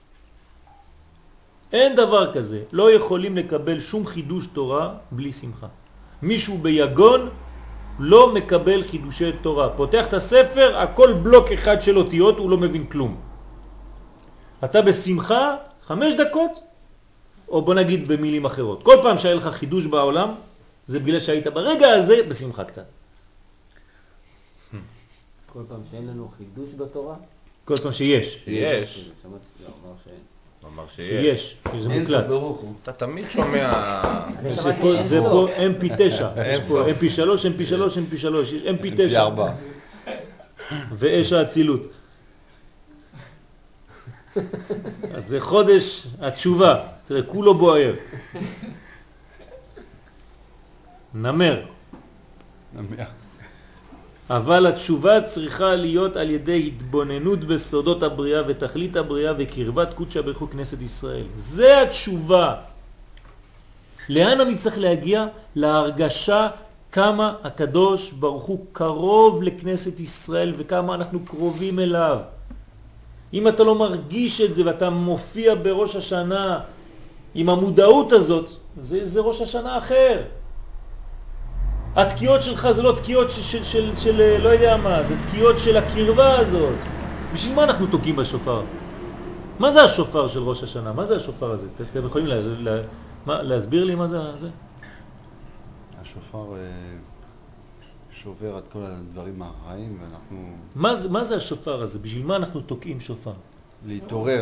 אין דבר כזה. לא יכולים לקבל שום חידוש תורה בלי שמחה. מישהו ביגון לא מקבל חידושי תורה. פותח את הספר, הכל בלוק אחד של אותיות, הוא לא מבין כלום. אתה בשמחה 5 דקות, או בוא נגיד במילים אחרות. כל פעם שהיה לך חידוש בעולם, זה בגלל שהיית ברגע הזה בשמחה קצת. כל פעם שאין לנו חידוש בתורה? כל פעם שיש. יש. לא, אמר שאין. הוא אמר שיש. זה מוקלט. אתה תמיד שומע... זה פה MP9. יש פה MP3, MP3, MP3. יש MP9. ואש האצילות. אז זה חודש התשובה. תראה, כולו בוער. נמר. אבל התשובה צריכה להיות על ידי התבוננות בסודות הבריאה ותכלית הבריאה וקרבת קודשא בריך הוא כנסת ישראל. זה התשובה. לאן אני צריך להגיע? להרגשה כמה הקדוש ברוך הוא קרוב לכנסת ישראל וכמה אנחנו קרובים אליו. אם אתה לא מרגיש את זה ואתה מופיע בראש השנה עם המודעות הזאת, זה ראש השנה אחר. התקיעות שלך זה לא תקיעות של לא יודע מה, זה תקיעות של הקרבה הזאת. בשביל מה אנחנו תוקעים בשופר? מה זה השופר של ראש השנה? מה זה השופר הזה? אתם יכולים להסביר לי מה זה? השופר שובר את כל הדברים הרעים ואנחנו... מה זה השופר הזה? בשביל מה אנחנו תוקעים שופר? להתעורר.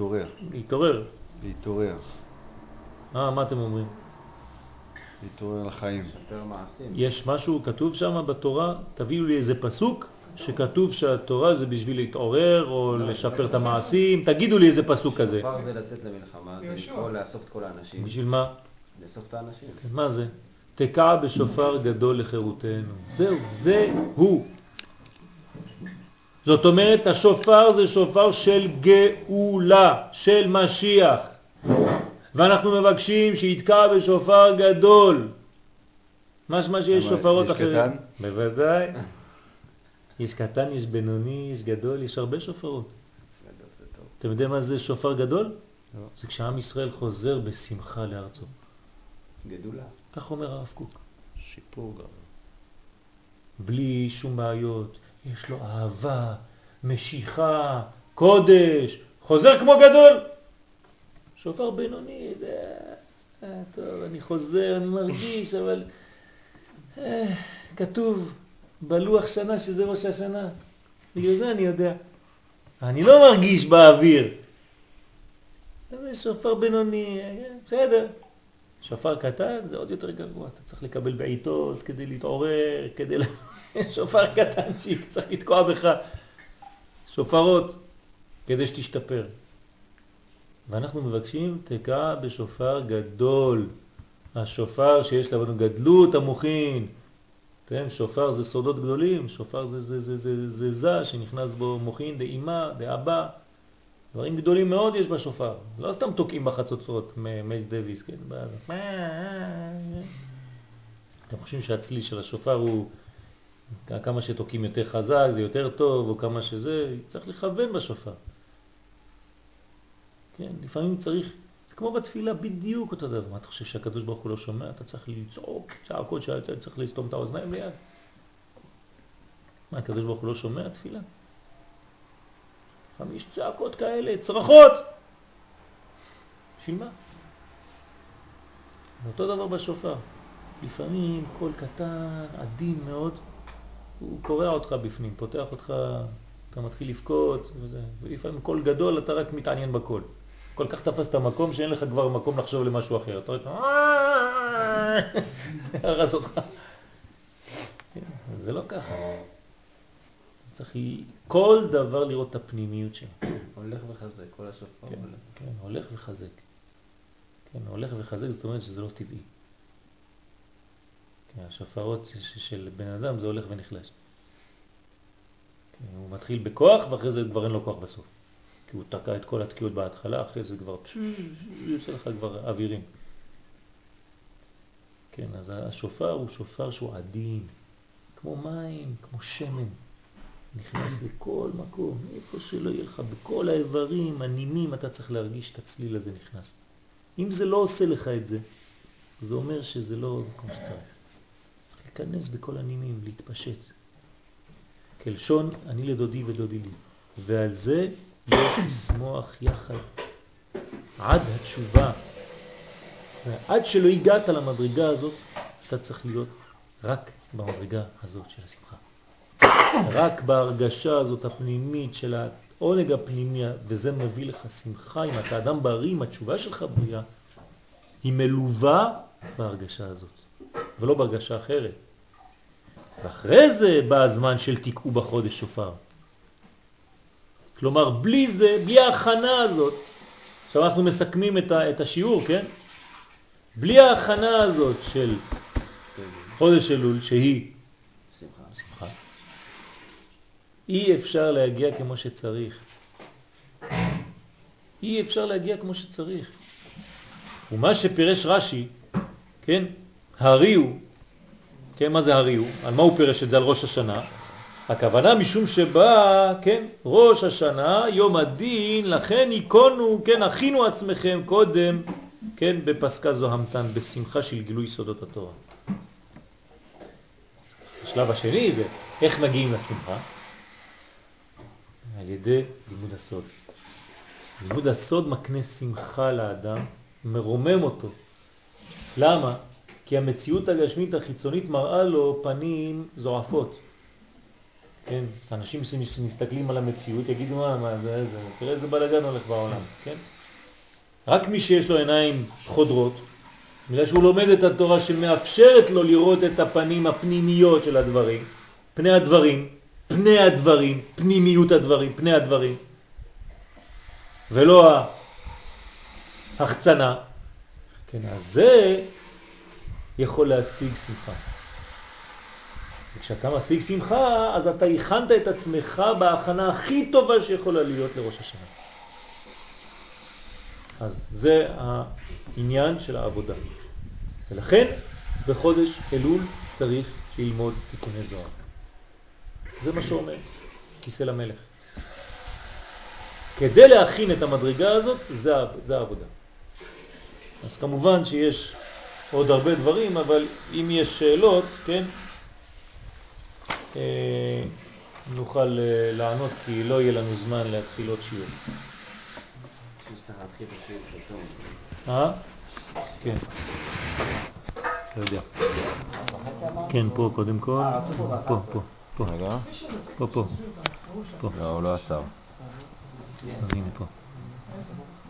מה אתם אומרים? להתעורר לחיים. לשפר מעשים. יש משהו כתוב שם בתורה, תביאו לי איזה פסוק שכתוב שהתורה זה בשביל להתעורר או לשפר את המעשים, תגידו לי איזה פסוק כזה. שופר זה לצאת למלחמה, זה לקרוא לאסוף את כל האנשים. בשביל מה? לאסוף את האנשים. מה זה? תקע בשופר גדול לחירותנו. זה הוא. זאת אומרת, השופר זה שופר של גאולה, של משיח. ואנחנו מבקשים שיתקע בשופר גדול. מה שיש שופרות אחרים. יש קטן? בוודאי. יש קטן, יש בינוני, יש גדול, יש הרבה שופרות. אתם יודעים מה זה שופר גדול? לא. זה כשעם ישראל חוזר בשמחה לארצו. גדולה. כך אומר הרב קוק. שיפור גם. בלי שום בעיות. יש לו אהבה, משיכה, קודש. חוזר כמו גדול. שופר בינוני, זה... טוב, אני חוזר, אני מרגיש, אבל... כתוב בלוח שנה שזה ראש השנה. בגלל זה אני יודע. אני לא מרגיש באוויר. זה שופר בינוני, בסדר. שופר קטן זה עוד יותר גרוע. אתה צריך לקבל בעיתות כדי להתעורר, כדי... שופר קטנצ'יק, צריך לתקוע בך. שופרות, כדי שתשתפר. ואנחנו מבקשים תקע בשופר גדול. השופר שיש לנו גדלות המוחין. שופר זה סודות גדולים, שופר זה שנכנס בו מוחין, דאימה, דאבא. דברים גדולים מאוד יש בשופר. לא סתם תוקעים בחצוצרות, מייס דוויס, כן? אתם חושבים שהצליל של השופר הוא כמה שתוקעים יותר חזק, זה יותר טוב, או כמה שזה, צריך לכוון בשופר. כן, לפעמים צריך, זה כמו בתפילה בדיוק אותו דבר. מה אתה חושב שהקדוש ברוך הוא לא שומע? אתה צריך לצעוק, צעקות שאתה צריך לסתום את האוזניים ליד. מה, הקדוש ברוך הוא לא שומע תפילה? לפעמים יש צעקות כאלה, צרחות. בשביל מה? אותו דבר בשופר. לפעמים קול קטן, עדין מאוד, הוא קורע אותך בפנים, פותח אותך, אתה מתחיל לבכות וזה. ולפעמים קול גדול, אתה רק מתעניין בקול. כל כך תפס את המקום שאין לך כבר מקום לחשוב למשהו אחר. אתה רק הרס אותך. זה לא ככה. זה צריך כל דבר לראות את הפנימיות שלו. הולך וחזק, כל השופר הולך. כן, הולך וחזק. כן, הולך וחזק, זאת אומרת שזה לא טבעי. כן, השופרות של בן אדם זה הולך ונחלש. הוא מתחיל בכוח ואחרי זה כבר אין לו כוח בסוף. כי הוא תקע את כל התקיעות בהתחלה, אחרי זה כבר יוצא לך כבר אווירים. כן, אז השופר הוא שופר שהוא עדין, כמו מים, כמו שמן. נכנס לכל מקום, איפה שלא יהיה לך, בכל האיברים, הנימים, אתה צריך להרגיש את הצליל הזה נכנס. אם זה לא עושה לך את זה, זה אומר שזה לא כמו שצריך. להיכנס בכל הנימים, להתפשט. כלשון, אני לדודי ודודי לי. ועל זה יש לשמוח יחד. עד התשובה. עד שלא הגעת למדרגה הזאת, אתה צריך להיות רק במדרגה הזאת של השמחה. רק בהרגשה הזאת הפנימית של העונג הפנימי, וזה מביא לך שמחה. אם אתה אדם בריא, אם התשובה שלך בריאה, היא מלווה בהרגשה הזאת, ולא בהרגשה אחרת. ואחרי זה בא הזמן של תיקעו בחודש שופר. כלומר, בלי זה, בלי ההכנה הזאת, עכשיו אנחנו מסכמים את השיעור, כן? בלי ההכנה הזאת של חודש אלול, שהיא שמחה, אי אפשר להגיע כמו שצריך. אי אפשר להגיע כמו שצריך. ומה שפירש רש"י, כן? הריעו, כן, מה זה הריעו? על מה הוא פירש את זה? על ראש השנה. הכוונה משום שבא, כן, ראש השנה, יום הדין, לכן עיקונו, כן, הכינו עצמכם קודם, כן, בפסקה זו המתן, בשמחה של גילוי סודות התורה. השלב השני זה, איך מגיעים לשמחה? על ידי לימוד הסוד. לימוד הסוד מקנה שמחה לאדם, מרומם אותו. למה? כי המציאות הגשמית החיצונית מראה לו פנים זועפות. כן, אנשים שמסתכלים על המציאות יגידו מה זה, תראה איזה בלגן הולך בעולם, כן? רק מי שיש לו עיניים חודרות, בגלל שהוא לומד את התורה שמאפשרת לו לראות את הפנים הפנימיות של הדברים, פני הדברים, פנימיות הדברים, פני הדברים, ולא ההחצנה. כן, אז זה יכול להשיג שמחה. וכשאתה משיג שמחה, אז אתה הכנת את עצמך בהכנה הכי טובה שיכולה להיות לראש השנה. אז זה העניין של העבודה. ולכן בחודש אלול צריך ללמוד תיקוני זוהר. זה מה שאומר כיסא למלך. כדי להכין את המדרגה הזאת, זה העבודה. אז כמובן שיש עוד הרבה דברים, אבל אם יש שאלות, כן, נוכל לענות, כי לא יהיה לנו זמן להתחיל עוד שיעור. שצריך להתחיל בשיעור פתאום. כן. לא יודע. כן, פה קודם כל. פה. רגע. פה. לא, הוא לא עצר. הנה פה.